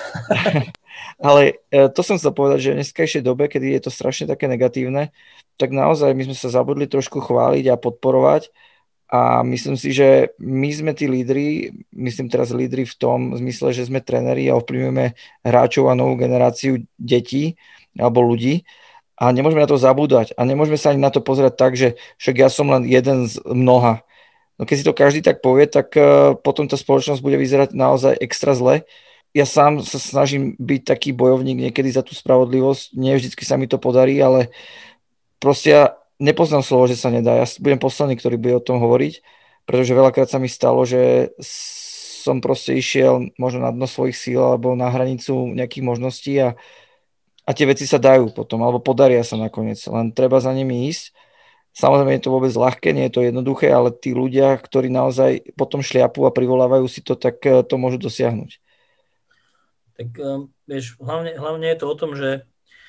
Ale to som chcel povedať, že v dneskajšej dobe, kedy je to strašne také negatívne, tak naozaj my sme sa zabudli trošku chváliť a podporovať. A myslím si, že my sme tí lídri, myslím teraz lídri v tom zmysle, že sme tréneri a ovplyvňujeme hráčov a novú generáciu detí alebo ľudí. A nemôžeme na to zabúdať. A nemôžeme sa ani na to pozerať tak, že však ja som len jeden z mnoha. No keď si to každý tak povie, tak uh, potom tá spoločnosť bude vyzerať naozaj extra zle. Ja sám sa snažím byť taký bojovník niekedy za tú spravodlivosť. Nie vždycky sa mi to podarí, ale proste ja nepoznám slovo, že sa nedá. Ja budem posledný, ktorý bude o tom hovoriť, pretože veľakrát sa mi stalo, že som proste išiel možno na dno svojich síl alebo na hranicu nejakých možností a A tie veci sa dajú potom, alebo podaria sa nakoniec. Len treba za nimi ísť. Samozrejme je to vôbec ľahké, nie je to jednoduché, ale tí ľudia, ktorí naozaj potom šliapu a privolávajú si to, tak to môžu dosiahnuť. Tak vieš, hlavne, hlavne je to o tom, že,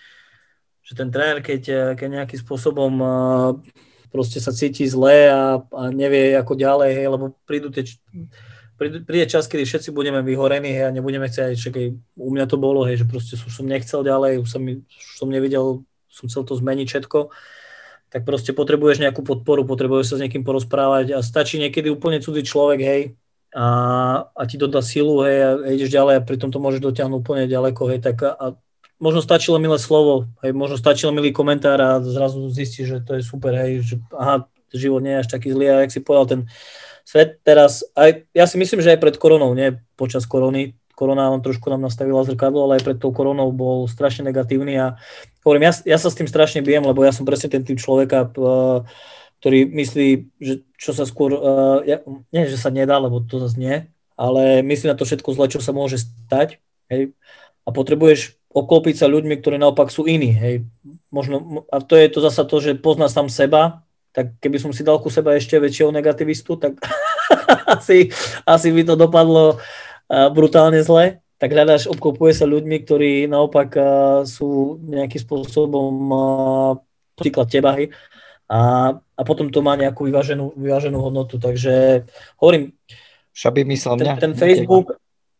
že ten tréner, keď, keď nejakým spôsobom proste sa cíti zle a, a nevie ako ďalej, hej, lebo prídu tie... Príde čas, kedy všetci budeme vyhorení, hej, a nebudeme chcieť, že u mňa to bolo, hej, že proste už som nechcel ďalej, už som, už som nevidel, som chcel to zmeniť všetko, tak proste potrebuješ nejakú podporu, potrebuješ sa s niekým porozprávať a stačí niekedy úplne cudzí človek, hej, a, a ti dodá silu, hej, a ideš ďalej a pritom to môžeš dotiahnuť úplne ďaleko, hej, tak a, a možno stačilo milé slovo, hej, možno stačilo milý komentár a zrazu zistíš, že to je super, hej, že aha, život nie je až taký zlý, a jak si povedal, ten svet teraz, aj, ja si myslím, že aj pred koronou, nie počas korony, korona nám trošku nám nastavila zrkadlo, ale aj pred tou koronou bol strašne negatívny a hovorím, ja, ja sa s tým strašne bijem, lebo ja som presne ten typ človeka, ktorý myslí, že čo sa skôr, ja, nie, že sa nedá, lebo to zase nie, ale myslí na to všetko zle, čo sa môže stať, hej, a potrebuješ oklopiť sa ľuďmi, ktorí naopak sú iní, hej, možno, a to je to zasa to, že pozná sám seba, tak keby som si dal ku seba ešte väčšieho negativistu, tak asi, asi by to dopadlo brutálne zle. Tak hľadáš, obklopuje sa ľuďmi, ktorí naopak sú nejakým spôsobom príklad teba, hej. A, a potom to má nejakú vyváženú, vyváženú hodnotu. Takže hovorím, Šabi myslel mňa. Ten, ten Facebook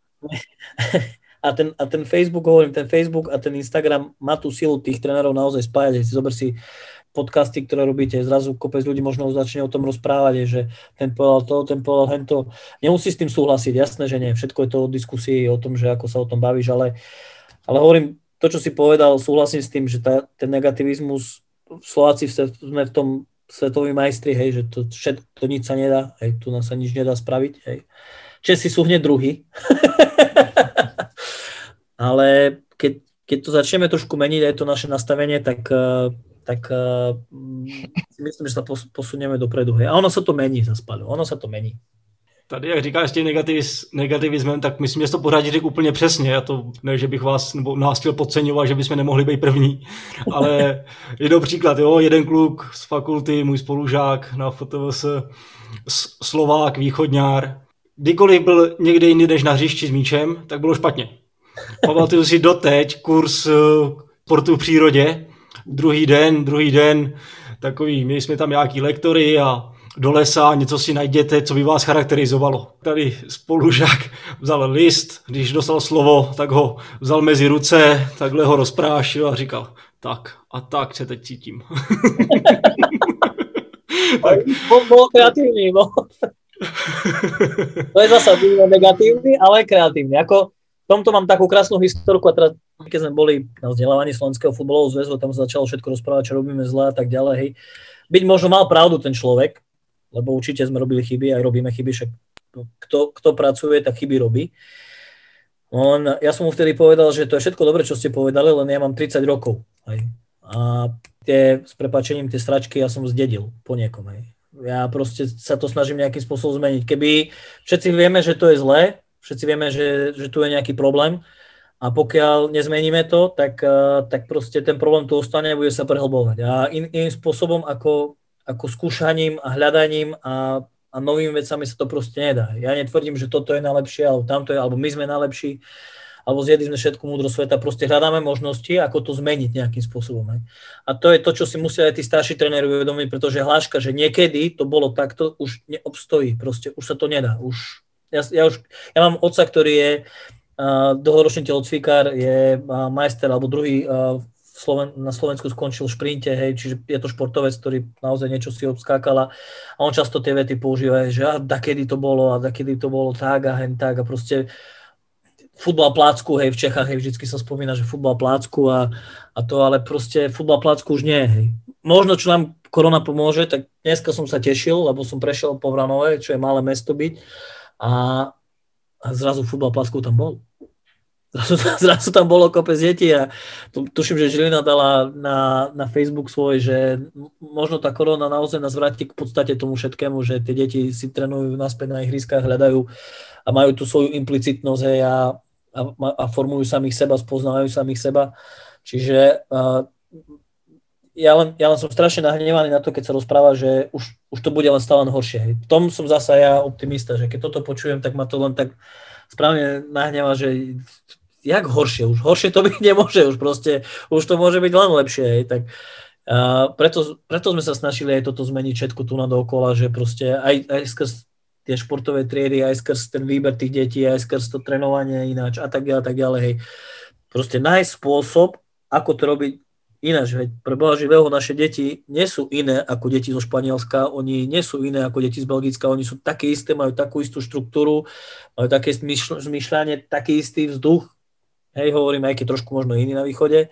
a ten, a ten Facebook, hovorím, ten Facebook a ten Instagram má tú silu tých trénerov naozaj spájať. Si zober si podcasty, ktoré robíte, zrazu kopec ľudí možno začne o tom rozprávať, že ten povedal to, ten povedal hento. Nemusí s tým súhlasiť, jasné, že nie. Všetko je to o diskusii, o tom, že ako sa o tom bavíš, ale, ale hovorím, to, čo si povedal, súhlasím s tým, že tá, ten negativizmus, Slováci sme v tom svetoví majstri, hej, že to všetko, to nič sa nedá, hej, tu nás sa nič nedá spraviť, hej. Česi sú hneď druhý. Ale keď, keď to začneme trošku meniť, aj to naše nastavenie, tak tak uh, myslím, že sa posunieme dopredu. Hej. A ono sa to mení za Paľo, ono sa to mení. Tady, jak říkáš, tím negativiz, negativismem, tak myslím, že to pořád řekl úplně přesně. Já to, ne, že bych vás nebo nás chtěl podceňovat, že bychom nemohli být první, ale jeden příklad, jo, jeden kluk z fakulty, můj spolužák na F T V S, Slovák, východňár. Kdykoliv byl někde jinde než na hřišti s míčem, tak bylo špatně. Pamatuju si doteď kurz sportu v přírodě, druhý den, druhý den, takový, měli jsme tam nějaký lektory a do lesa, něco si najděte, co by vás charakterizovalo. Tady spolužák vzal list, když dostal slovo, tak ho vzal mezi ruce, takhle ho rozprášil a říkal, tak a tak se teď cítím. Tak. Bol kreatívny, bol. To je zasa negatívny, ale kreatívny. Ako v tomto mám takú krásnu historku a teraz, keď sme boli na vzdelávaní Slovenského futbalového zväzu, tam sa začalo všetko rozprávať, čo robíme zle a tak ďalej. Hej. Byť možno mal pravdu ten človek, lebo určite sme robili chyby, aj robíme chyby, však kto, kto pracuje, tak chyby robí. On, ja som mu vtedy povedal, že to je všetko dobre, čo ste povedali, len ja mám tridsať rokov. Hej. A tie, s prepáčením, tie stračky ja som zdedil po niekom. Hej. Ja proste sa to snažím nejakým spôsobom zmeniť. Keby všetci vieme, že to je zlé, všetci vieme, že, že tu je nejaký problém a pokiaľ nezmeníme to, tak, tak proste ten problém tu ostane a bude sa prehlbovať. A in, iným spôsobom ako, ako skúšaním a hľadaním a, a novými vecami sa to proste nedá. Ja netvrdím, že toto je najlepšie, alebo tamto je, alebo my sme najlepší, alebo zjedli sme všetku múdrosť sveta. Proste hľadáme možnosti, ako to zmeniť nejakým spôsobom. A to je to, čo si musia aj tí starší tréneri uvedomiť, pretože hláška, že niekedy to bolo takto, už neobstojí. Proste už sa to nedá. Už Ja, ja, už, ja mám otca, ktorý je uh, dlhoročný telocvikár, je uh, majster alebo druhý uh, v Sloven- na Slovensku skončil v šprinte, hej, čiže je to športovec, ktorý naozaj niečo si obskákal a on často tie vety používa, že a dakedy to bolo a dakedy to bolo tak a hen tak a proste futbal plácku, hej, v Čechách, hej, vždycky sa spomína, že futbal plácku a, a to, ale proste futbal plácku už nie, hej. Možno, čo nám korona pomôže, tak dneska som sa tešil, lebo som prešiel po Vranove, čo je malé mesto byť a, a zrazu futbal plácku tam bol. Zrazu, zrazu tam bolo kopec detí a tu, tuším, že Žilina dala na, na Facebook svoj, že možno tá korona naozaj nás vráti k podstate tomu všetkému, že tie deti si trénujú naspäť na ihriskách, hľadajú a majú tú svoju implicitnosť hej, a, a, a formujú samých seba, spoznávajú samých seba. Čiže uh, ja, len, ja len som strašne nahnevaný na to, keď sa rozpráva, že už, už to bude len stále horšie. Hej. V tom som zasa ja optimista, že keď toto počujem, tak ma to len tak správne nahneva, že jak horšie, už horšie to byť nemôže, už proste, už to môže byť len lepšie, hej, tak uh, preto, preto sme sa snažili aj toto zmeniť všetko tu na dookola, že proste aj, aj skrz tie športové triedy, aj skrz ten výber tých detí, aj skrz to trénovanie ináč a tak ďalej, tak ďalej, hej. Proste nájsť spôsob, ako to robiť ináč, hej. Pre Boha živého naše deti nie sú iné ako deti zo Španielska, oni nie sú iné ako deti z Belgicka, oni sú také isté, majú takú istú štruktúru, majú také zmýšľanie, taký istý vzduch. Hej, hovorím, aj keď trošku možno iný na východe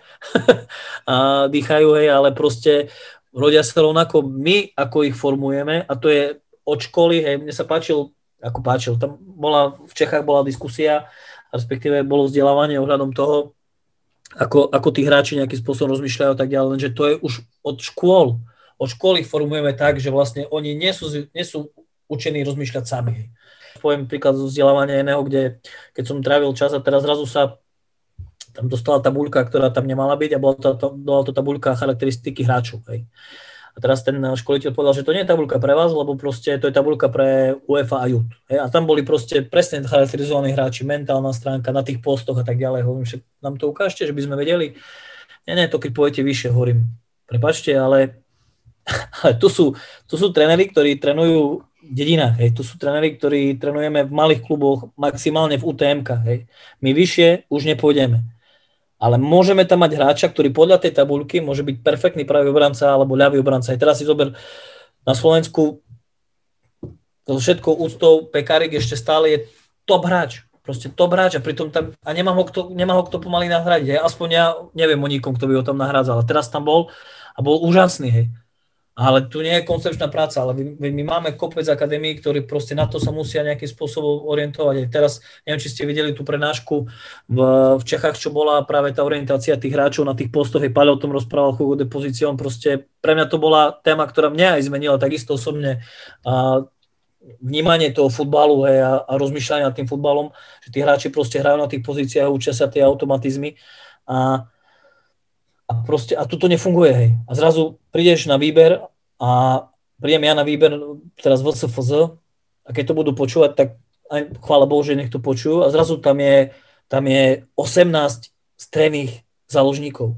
a dýchajú, hej, ale proste rodia sa rovnako my, ako ich formujeme a to je od školy, hej, mne sa páčil, ako páčil, tam bola, v Čechách bola diskusia, respektíve bolo vzdelávanie ohľadom toho, ako, ako tí hráči nejakým spôsobom rozmýšľajú a tak ďalej, lenže to je už od škôl, od školy ich formujeme tak, že vlastne oni nie sú, nie sú učení rozmýšľať sami, hej. Poviem príklad zo vzdelávania iného, kde keď som trávil čas a teraz zrazu sa tam dostala tabuľka, ktorá tam nemala byť a bola to, to, bola to tabuľka charakteristiky hráčov. Hej. A teraz ten školiteľ povedal, že to nie je tabuľka pre vás, lebo proste to je tabuľka pre UEFA a Youth. Hej. A tam boli proste presne charakterizovaní hráči, mentálna stránka na tých postoch a tak ďalej. Hovorím, že nám to ukážte, že by sme vedeli. Nie, nie, to keď pôjdete vyššie, hovorím, prepáčte, ale, ale tu sú, tu sú tréneri, ktorí trénujú v dedinách, hej. Tu sú tréneri, ktorí trénujeme v malých kluboch, maximálne v ú té emkách. Hej. My vyššie už nepôjdeme. Ale môžeme tam mať hráča, ktorý podľa tej tabuľky môže byť perfektný pravý obranca alebo ľavý obranca. Aj teraz si zober na Slovensku so všetkou úctou Pekarik ešte stále je top hráč. Proste top hráč a pritom tam a nemá ho kto, nemá ho kto pomaly nahradiť. Hej. Aspoň ja neviem o nikom, kto by ho tam nahrádzal. A teraz tam bol a bol úžasný. Hej. Ale tu nie je koncepčná práca, ale my, my máme kopec akadémií, ktorí proste na to sa musia nejakým spôsobom orientovať. Aj teraz, neviem, či ste videli tú prednášku v, v Čechách, čo bola práve tá orientácia tých hráčov na tých postoch, aj Paľo o tom rozprával, koľko depozíciom, proste pre mňa to bola téma, ktorá mňa aj zmenila takisto osobne a vnímanie toho futbalu hej, a, a rozmýšľanie nad tým futbalom, že tí hráči proste hrajú na tých pozíciách, učia sa tie automatizmy a A proste, a tu to nefunguje, hej. A zrazu prídeš na výber a prídem ja na výber teraz vé cé ef zet a keď to budú počúvať, tak aj, chvála Bohu, že nech to počujú a zrazu tam je, tam je osemnásť stredných záložníkov.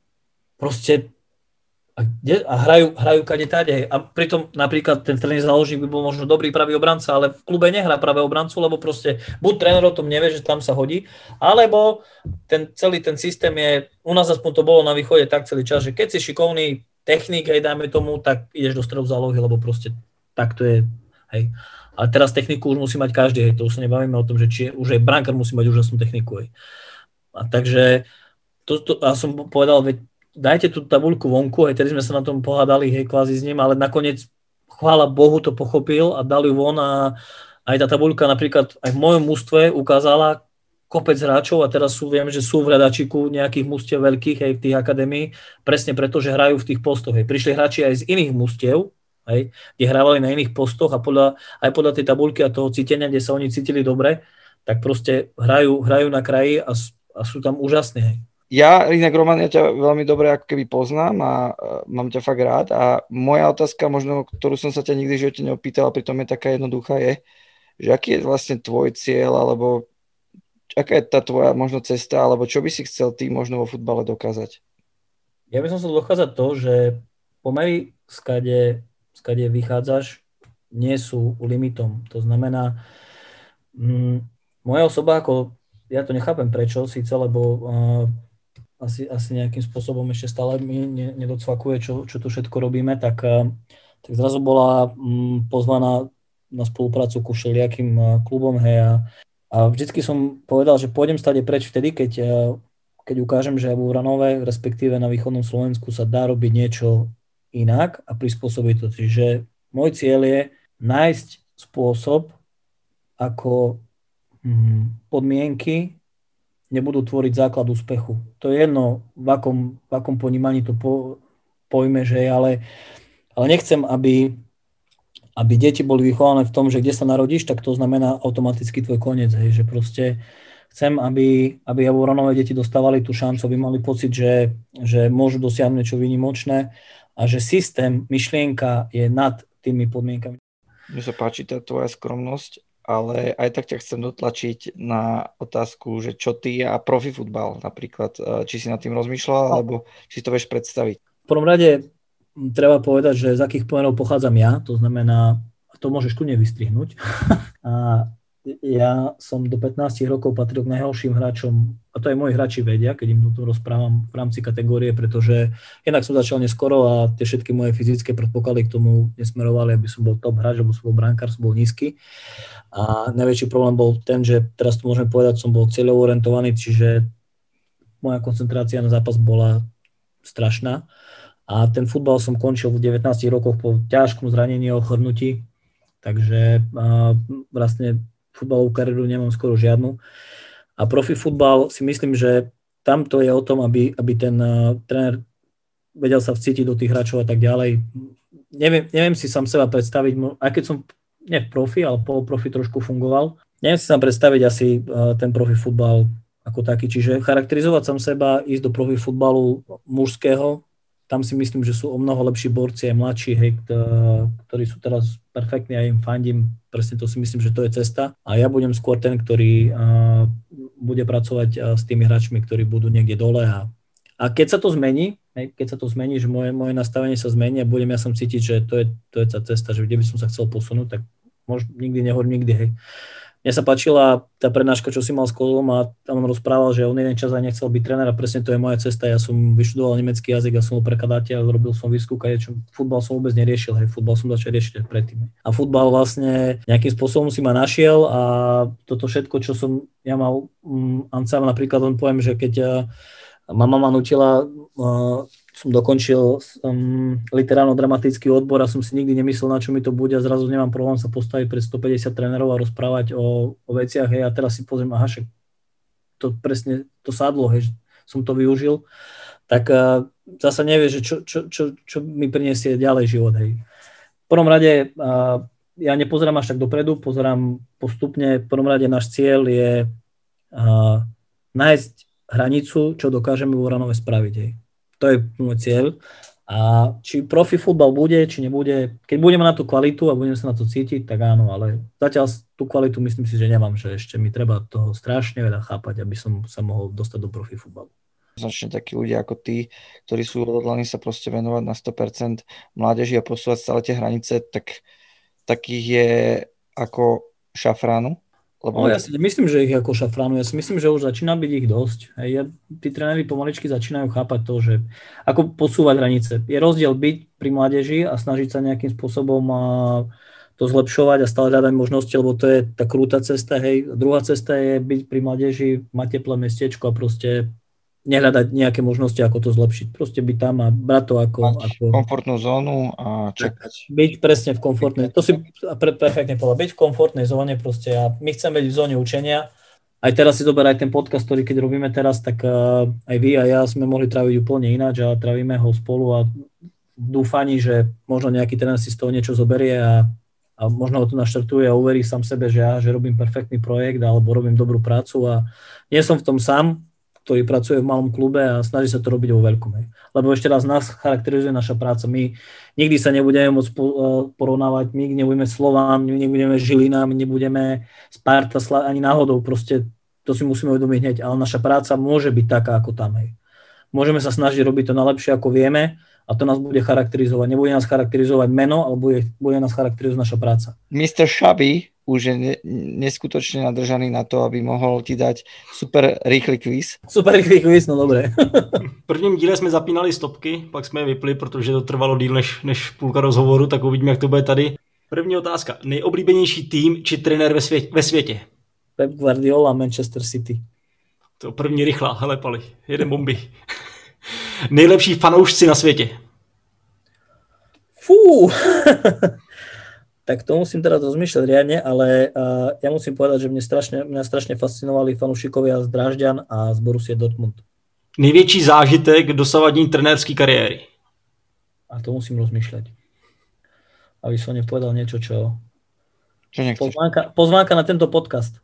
Proste a, a hrajú, hrajú kade táde, hej. A pritom napríklad ten stredný záložník by bol možno dobrý pravý obranca, ale v klube nehrá pravé obrancu, lebo proste buď tréner o tom nevie, že tam sa hodí, alebo ten celý ten systém je, u nás aspoň to bolo na východe tak celý čas, že keď si šikovný technik, hej, dajme tomu, tak ideš do stredu zálohy, lebo proste tak to je, hej. Ale teraz techniku už musí mať každý, hej, to už sa nebavíme o tom, že či už aj brankár musí mať úžasnú techniku, hej. A takže, to, to, ja som povedal, veď dajte tú tabuľku vonku, aj tedy sme sa na tom pohádali, hej, kvázi s ním, ale nakoniec, chvála Bohu, to pochopil a dali ju von a aj tá tabuľka napríklad aj v mojom mužstve ukázala kopec hráčov a teraz sú, viem, že sú v hľadačiku nejakých mužstiev veľkých, hej, v tých akadémií, presne preto, že hrajú v tých postoch, hej. Prišli hráči aj z iných mužstiev, hej, kde hrávali na iných postoch a podľa, aj podľa tej tabuľky a toho cítenia, kde sa oni cítili dobre, tak proste hrajú, hrajú na kraji a, a sú tam úžasní, hej. Ja, inak Roman, ja ťa veľmi dobre ako keby poznám a uh, mám ťa fakt rád a moja otázka, možno, ktorú som sa ťa nikdy v živote neopýtal, a pritom je taká jednoduchá, je, že aký je vlastne tvoj cieľ, alebo aká je tá tvoja možno cesta, alebo čo by si chcel ty možno vo futbale dokázať? Ja by som chcel dokázať to, že pomery, skade, skade vychádzaš, nie sú limitom. To znamená, mm, moja osoba, ako ja to nechápem prečo, síce, lebo uh, Asi, asi nejakým spôsobom ešte stále mi nedocvakuje, čo, čo tu všetko robíme, tak, tak zrazu bola m, pozvaná na spoluprácu ku všelijakým klubom, hej, a A vždycky som povedal, že pôjdem stade preč vtedy, keď, keď ukážem, že vo Vranove, respektíve na východnom Slovensku sa dá robiť niečo inak a prispôsobiť to. Čiže môj cieľ je nájsť spôsob, ako podmienky nebudú tvoriť základ úspechu. To je jedno, v akom, v akom ponímaní to po, pojme, že je, ale, ale nechcem, aby, aby deti boli vychované v tom, že kde sa narodíš, tak to znamená automaticky tvoj koniec. Hej, že proste chcem, aby, aby Javoránové deti dostávali tú šancu, aby mali pocit, že, že môžu dosiahnuť niečo výnimočné a že systém, myšlienka je nad tými podmienkami. Mne sa páči tá tvoja skromnosť, ale aj tak ťa chcem dotlačiť na otázku, že čo ty a profi futbal napríklad. Či si nad tým rozmýšľal, alebo či si to vieš predstaviť? V prvom rade treba povedať, že z akých pomerov pochádzam ja, to znamená, to môžeš kľudne vystrihnúť. A ja som do pätnásť rokov patril k najhorším hráčom, a to aj moji hráči vedia, keď im to rozprávam v rámci kategórie, pretože jednak som začal neskoro a tie všetky moje fyzické predpoklady k tomu nesmerovali, aby som bol top hráč, alebo som bol brankár, som bol nízky. A najväčší problém bol ten, že teraz to môžeme povedať, som bol cieľovo orientovaný, čiže moja koncentrácia na zápas bola strašná. A ten futbal som končil v devätnástich rokoch po ťažkom zranení a ochrnutí, takže uh, vlastne futbalovú kariéru nemám skoro žiadnu. A profi futbal si myslím, že tamto je o tom, aby, aby ten uh, tréner vedel sa vcítiť do tých hráčov a tak ďalej. Neviem, neviem si sám seba predstaviť, aj keď som nie v profi, ale poloprofi trošku fungoval, neviem si sám predstaviť asi uh, ten profi futbal ako taký. Čiže charakterizovať sám seba, ísť do profi futbalu mužského, tam si myslím, že sú o mnoho lepší borci, aj mladší, hej, ktorí sú teraz perfektní a im fandím. Presne to si myslím, že to je cesta. A ja budem skôr ten, ktorý uh, bude pracovať uh, s tými hráčmi, ktorí budú niekde dole. A, a keď sa to zmení, hej, keď sa to zmení, že moje, moje nastavenie sa zmení a budem ja som cítiť, že to je, to je tá cesta, že kde by som sa chcel posunúť, tak možno nikdy nehovorím nikdy, hej. Mne sa páčila tá prednáška, čo si mal s Kozlom a tam on rozprával, že on jeden čas aj nechcel byť tréner a presne to je moja cesta. Ja som vyštudoval nemecký jazyk, ja som bol prekladateľ, robil som výskum, čo futbal som vôbec neriešil, hej, futbal som začal riešiť predtým. A futbal vlastne nejakým spôsobom si ma našiel a toto všetko, čo som ja mal, um, Ancam napríklad on poviem, že keď uh, ma mama nutila, uh, som dokončil um, literárno-dramatický odbor a som si nikdy nemyslel, na čo mi to bude a zrazu nemám problém sa postaviť pred stopäťdesiat trénerov a rozprávať o, o veciach, hej, a teraz si pozriem, aha, však to presne, to sadlo, hej, som to využil, tak uh, zasa nevie, že čo, čo, čo, čo mi prinesie ďalej život, hej. V prvom rade uh, ja nepozerám až tak dopredu, pozerám postupne, v prvom rade náš cieľ je uh, nájsť hranicu, čo dokážeme vo Vranove spraviť, hej. To je môj cieľ. A či profi futbal bude, či nebude, keď budeme na tú kvalitu a budeme sa na to cítiť, tak áno, ale zatiaľ tú kvalitu myslím si, že nemám, že ešte mi treba toho strašne veľa chápať, aby som sa mohol dostať do profi futbalu. Značne takí ľudia ako ty, ktorí sú odhodlaní sa proste venovať na sto percent mládeži a posúvať stále tie hranice, tak takých je ako Šafránu. Lebo... No, ja si myslím, že ich ako Šafránu, ja si myslím, že už začína byť ich dosť. Hej, ja, tí tréneri pomaličky začínajú chápať to, že ako posúvať hranice. Je rozdiel byť pri mládeži a snažiť sa nejakým spôsobom a to zlepšovať a stále hľadať možnosti, lebo to je tá krúta cesta. Hej. Druhá cesta je byť pri mládeži, mať teplé mestečko a proste nehľadať nejaké možnosti, ako to zlepšiť. Proste byť tam a brať to ako... ako... komfortnú zónu a čakať. Byť presne v komfortnej... To si pre, perfektne povedal. Byť v komfortnej zóne proste a my chceme byť v zóne učenia. Aj teraz si zoberaj ten podcast, ktorý keď robíme teraz, tak uh, aj vy a ja sme mohli tráviť úplne ináč a trávime ho spolu a dúfaní, že možno nejaký tréner si z toho niečo zoberie a, a možno ho to naštartuje a uverí sám sebe, že ja že robím perfektný projekt alebo robím dobrú prácu a nie som v tom sám, ktorý pracuje v malom klube a snaží sa to robiť vo veľkom. Hej. Lebo ešte raz nás charakterizuje naša práca. My nikdy sa nebudeme môcť porovnávať, my nebudeme Slován, my nebudeme Žilina, my nebudeme Sparta, ani náhodou. Proste to si musíme uvedomiť hneď, ale naša práca môže byť taká ako tam. Hej. Môžeme sa snažiť robiť to najlepšie, ako vieme a to nás bude charakterizovať. Nebude nás charakterizovať meno, ale bude, bude nás charakterizovať naša práca. mister Šabi už je ne, neskutočne nadržaný na to, aby mohol ti dať super rýchly kvíz. Super rýchly kvíz, no dobré. V prvním díle jsme zapínali stopky, pak jsme je vypli, protože to trvalo díl než, než půlka rozhovoru, tak uvidíme, jak to bude tady. První otázka. Nejoblíbenější tým či trenér ve, svět, ve světě? Pep Guardiola, Manchester City. To první rychlá, hele Pali, jeden bomby. Nejlepší fanoušci na světě. Fú, tak to musím teraz rozmýšľať riadne, ale uh, ja musím povedať, že mne strašne, mňa strašne fascinovali fanúšikovia z Drážďan a z Borussia Dortmund. Největší zážitek dosavadní trenérské kariéry. A to musím rozmýšľať. Aby som nepovedal niečo, čo... Čo nechceš? Pozvánka, pozvánka na tento podcast.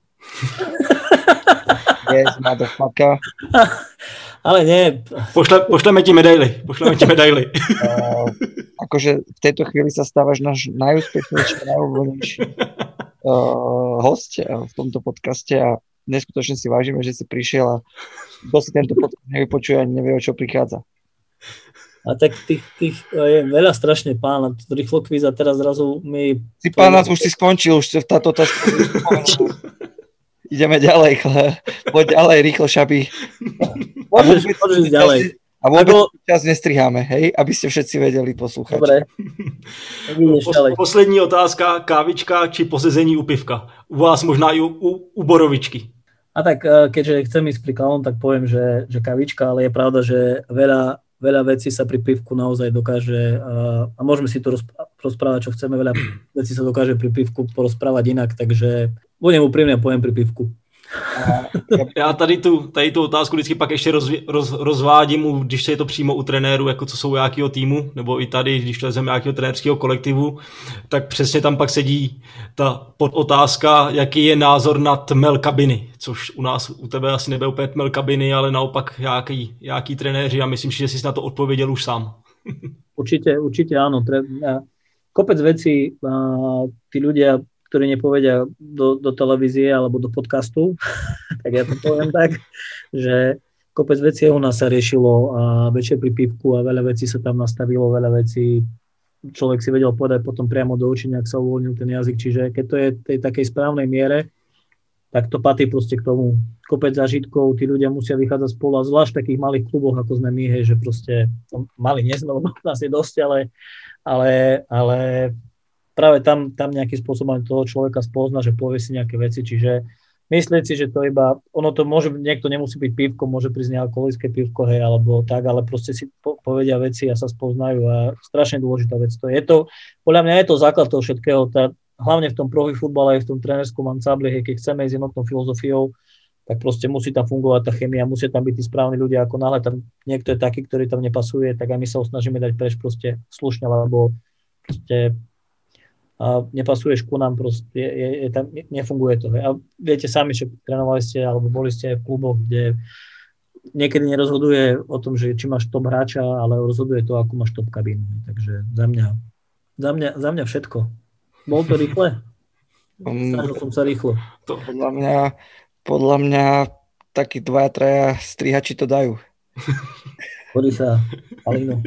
Yes, motherfucker. Ale nie. Pošle, pošleme ti medaily. Pošleme ti medaily. Uh, akože v tejto chvíli sa stávaš náš najúspešnejší, najúvolnejší uh, host v tomto podcaste a neskutočne si vážime, že si prišiel a kto si tento podcast nevypočuje ani nevie, o čo prichádza. A tak tých, tých je veľa strašne pána. Rýchlo kvíz a teraz zrazu mi... Si pána, už si skončil, už táto otázka. Ideme ďalej, chle. Poď ďalej, rýchlo, šaby. Môžeš, môžeš ísť ďalej. A vôbec Ako... čas nestriháme, hej? Aby ste všetci vedeli poslúchať. Dobre. Pos- poslední otázka, kávička či posezení u pivka? U vás možná i u, u, u borovičky. A tak, keďže chcem ísť pri klavom, tak poviem, že, že kavička, ale je pravda, že veľa, veľa vecí sa pri pivku naozaj dokáže, a, a môžeme si to rozprávať, čo chceme, veľa vecí sa dokáže pri pivku porozprávať inak, takže budem úprimne, poviem pri pivku. Já tady tu, tady tu otázku vždycky pak ještě roz, roz, rozvádím, když se je to přímo u trenéru, jako co jsou jakýho týmu, nebo i tady, když to lezeme nějakého trenérského kolektivu, tak přesně tam pak sedí ta podotázka, jaký je názor na tmel kabiny, což u nás, u tebe asi nebude úplně tmel kabiny, ale naopak jaký, jaký trenéři a myslím, že jsi na to odpověděl už sám. Určite, určite áno. Kopec vecí, tí ľudia, ktorí nepovedia do, do televízie alebo do podcastu, tak ja to poviem tak, že kopec vecí u nás sa riešilo a večer pri pivku a veľa vecí sa tam nastavilo, veľa vecí človek si vedel povedať potom priamo do očí, nejak sa uvoľnil ten jazyk, čiže keď to je v tej takej správnej miere, tak to patrí proste k tomu. Kopec zážitkov, tí ľudia musia vychádzať spolu a zvlášť v takých malých kluboch, ako sme my, hej, že proste, no, mali nie sme, lebo nás je dosť, ale, ale, ale práve tam, tam nejakým spôsobom toho človeka spozna, že povie si nejaké veci, čiže myslieť si, že to iba, ono to môže, niekto nemusí byť pivko, môže prísť nealkoholické pivko, hej, alebo tak, ale proste si po, povedia veci a sa spoznajú a strašne dôležitá vec to je. Je to, podľa mňa je to základ toho všetkého, tá, hlavne v tom profi futbale, aj v tom trénerskom ansambli, hej, keď chceme ísť jednotnou filozofiou, tak proste musí tam fungovať tá chemia, musia tam byť tí správni ľudia, ako náhle tam niekto je taký, ktorý tam nepasuje, tak aj my sa snažíme dať preč proste slušne, lebo proste a nepasuješ ku nám, proste, je, je, je tam, nefunguje to. Hej. A viete sami, že trénovali ste, alebo boli ste aj v kluboch, kde niekedy nerozhoduje o tom, že či máš top hráča, ale rozhoduje to, akú máš top kabínu. Takže za mňa, za mňa, za mňa všetko. Bol to rýchle? Snažil som sa rýchlo. To podľa mňa, podľa mňa takí dvaja, traja strihači to dajú. Hodí sa, Alino.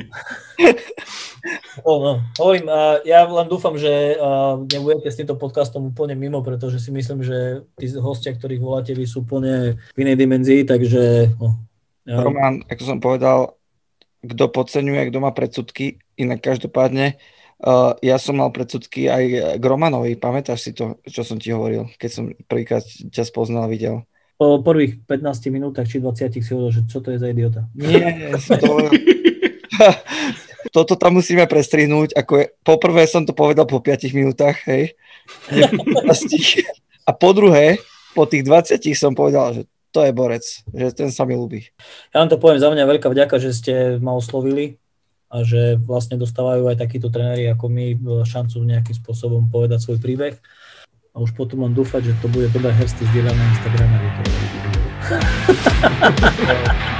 Oh, no. Hovorím, uh, ja len dúfam, že uh, nebudete s týmto podcastom úplne mimo, pretože si myslím, že tí hostia, ktorých voláte, vy sú úplne v inej dimenzii, takže... No, ja... Roman, ako som povedal, kto podceňuje, kto má predsudky, inak každopádne, uh, ja som mal predsudky aj k Romanovi, pamätáš si to, čo som ti hovoril, keď som prvýkrát ťa spoznal, videl? Po prvých pätnástich minútach či dvadsiatich si hovoril, že čo to je za idiota. Nie, to... Toto tam musíme prestrihnúť, ako je, poprvé som to povedal po piatich minútach, hej, a po druhé, po tých dvadsiatich som povedal, že to je borec, že ten sa mi ľúbi. Ja vám to poviem, za mňa veľká vďaka, že ste ma oslovili a že vlastne dostávajú aj takíto tréneri ako my šancu nejakým spôsobom povedať svoj príbeh a už potom mám dúfať, že to bude dobré hersty zdieľané na Instagrame.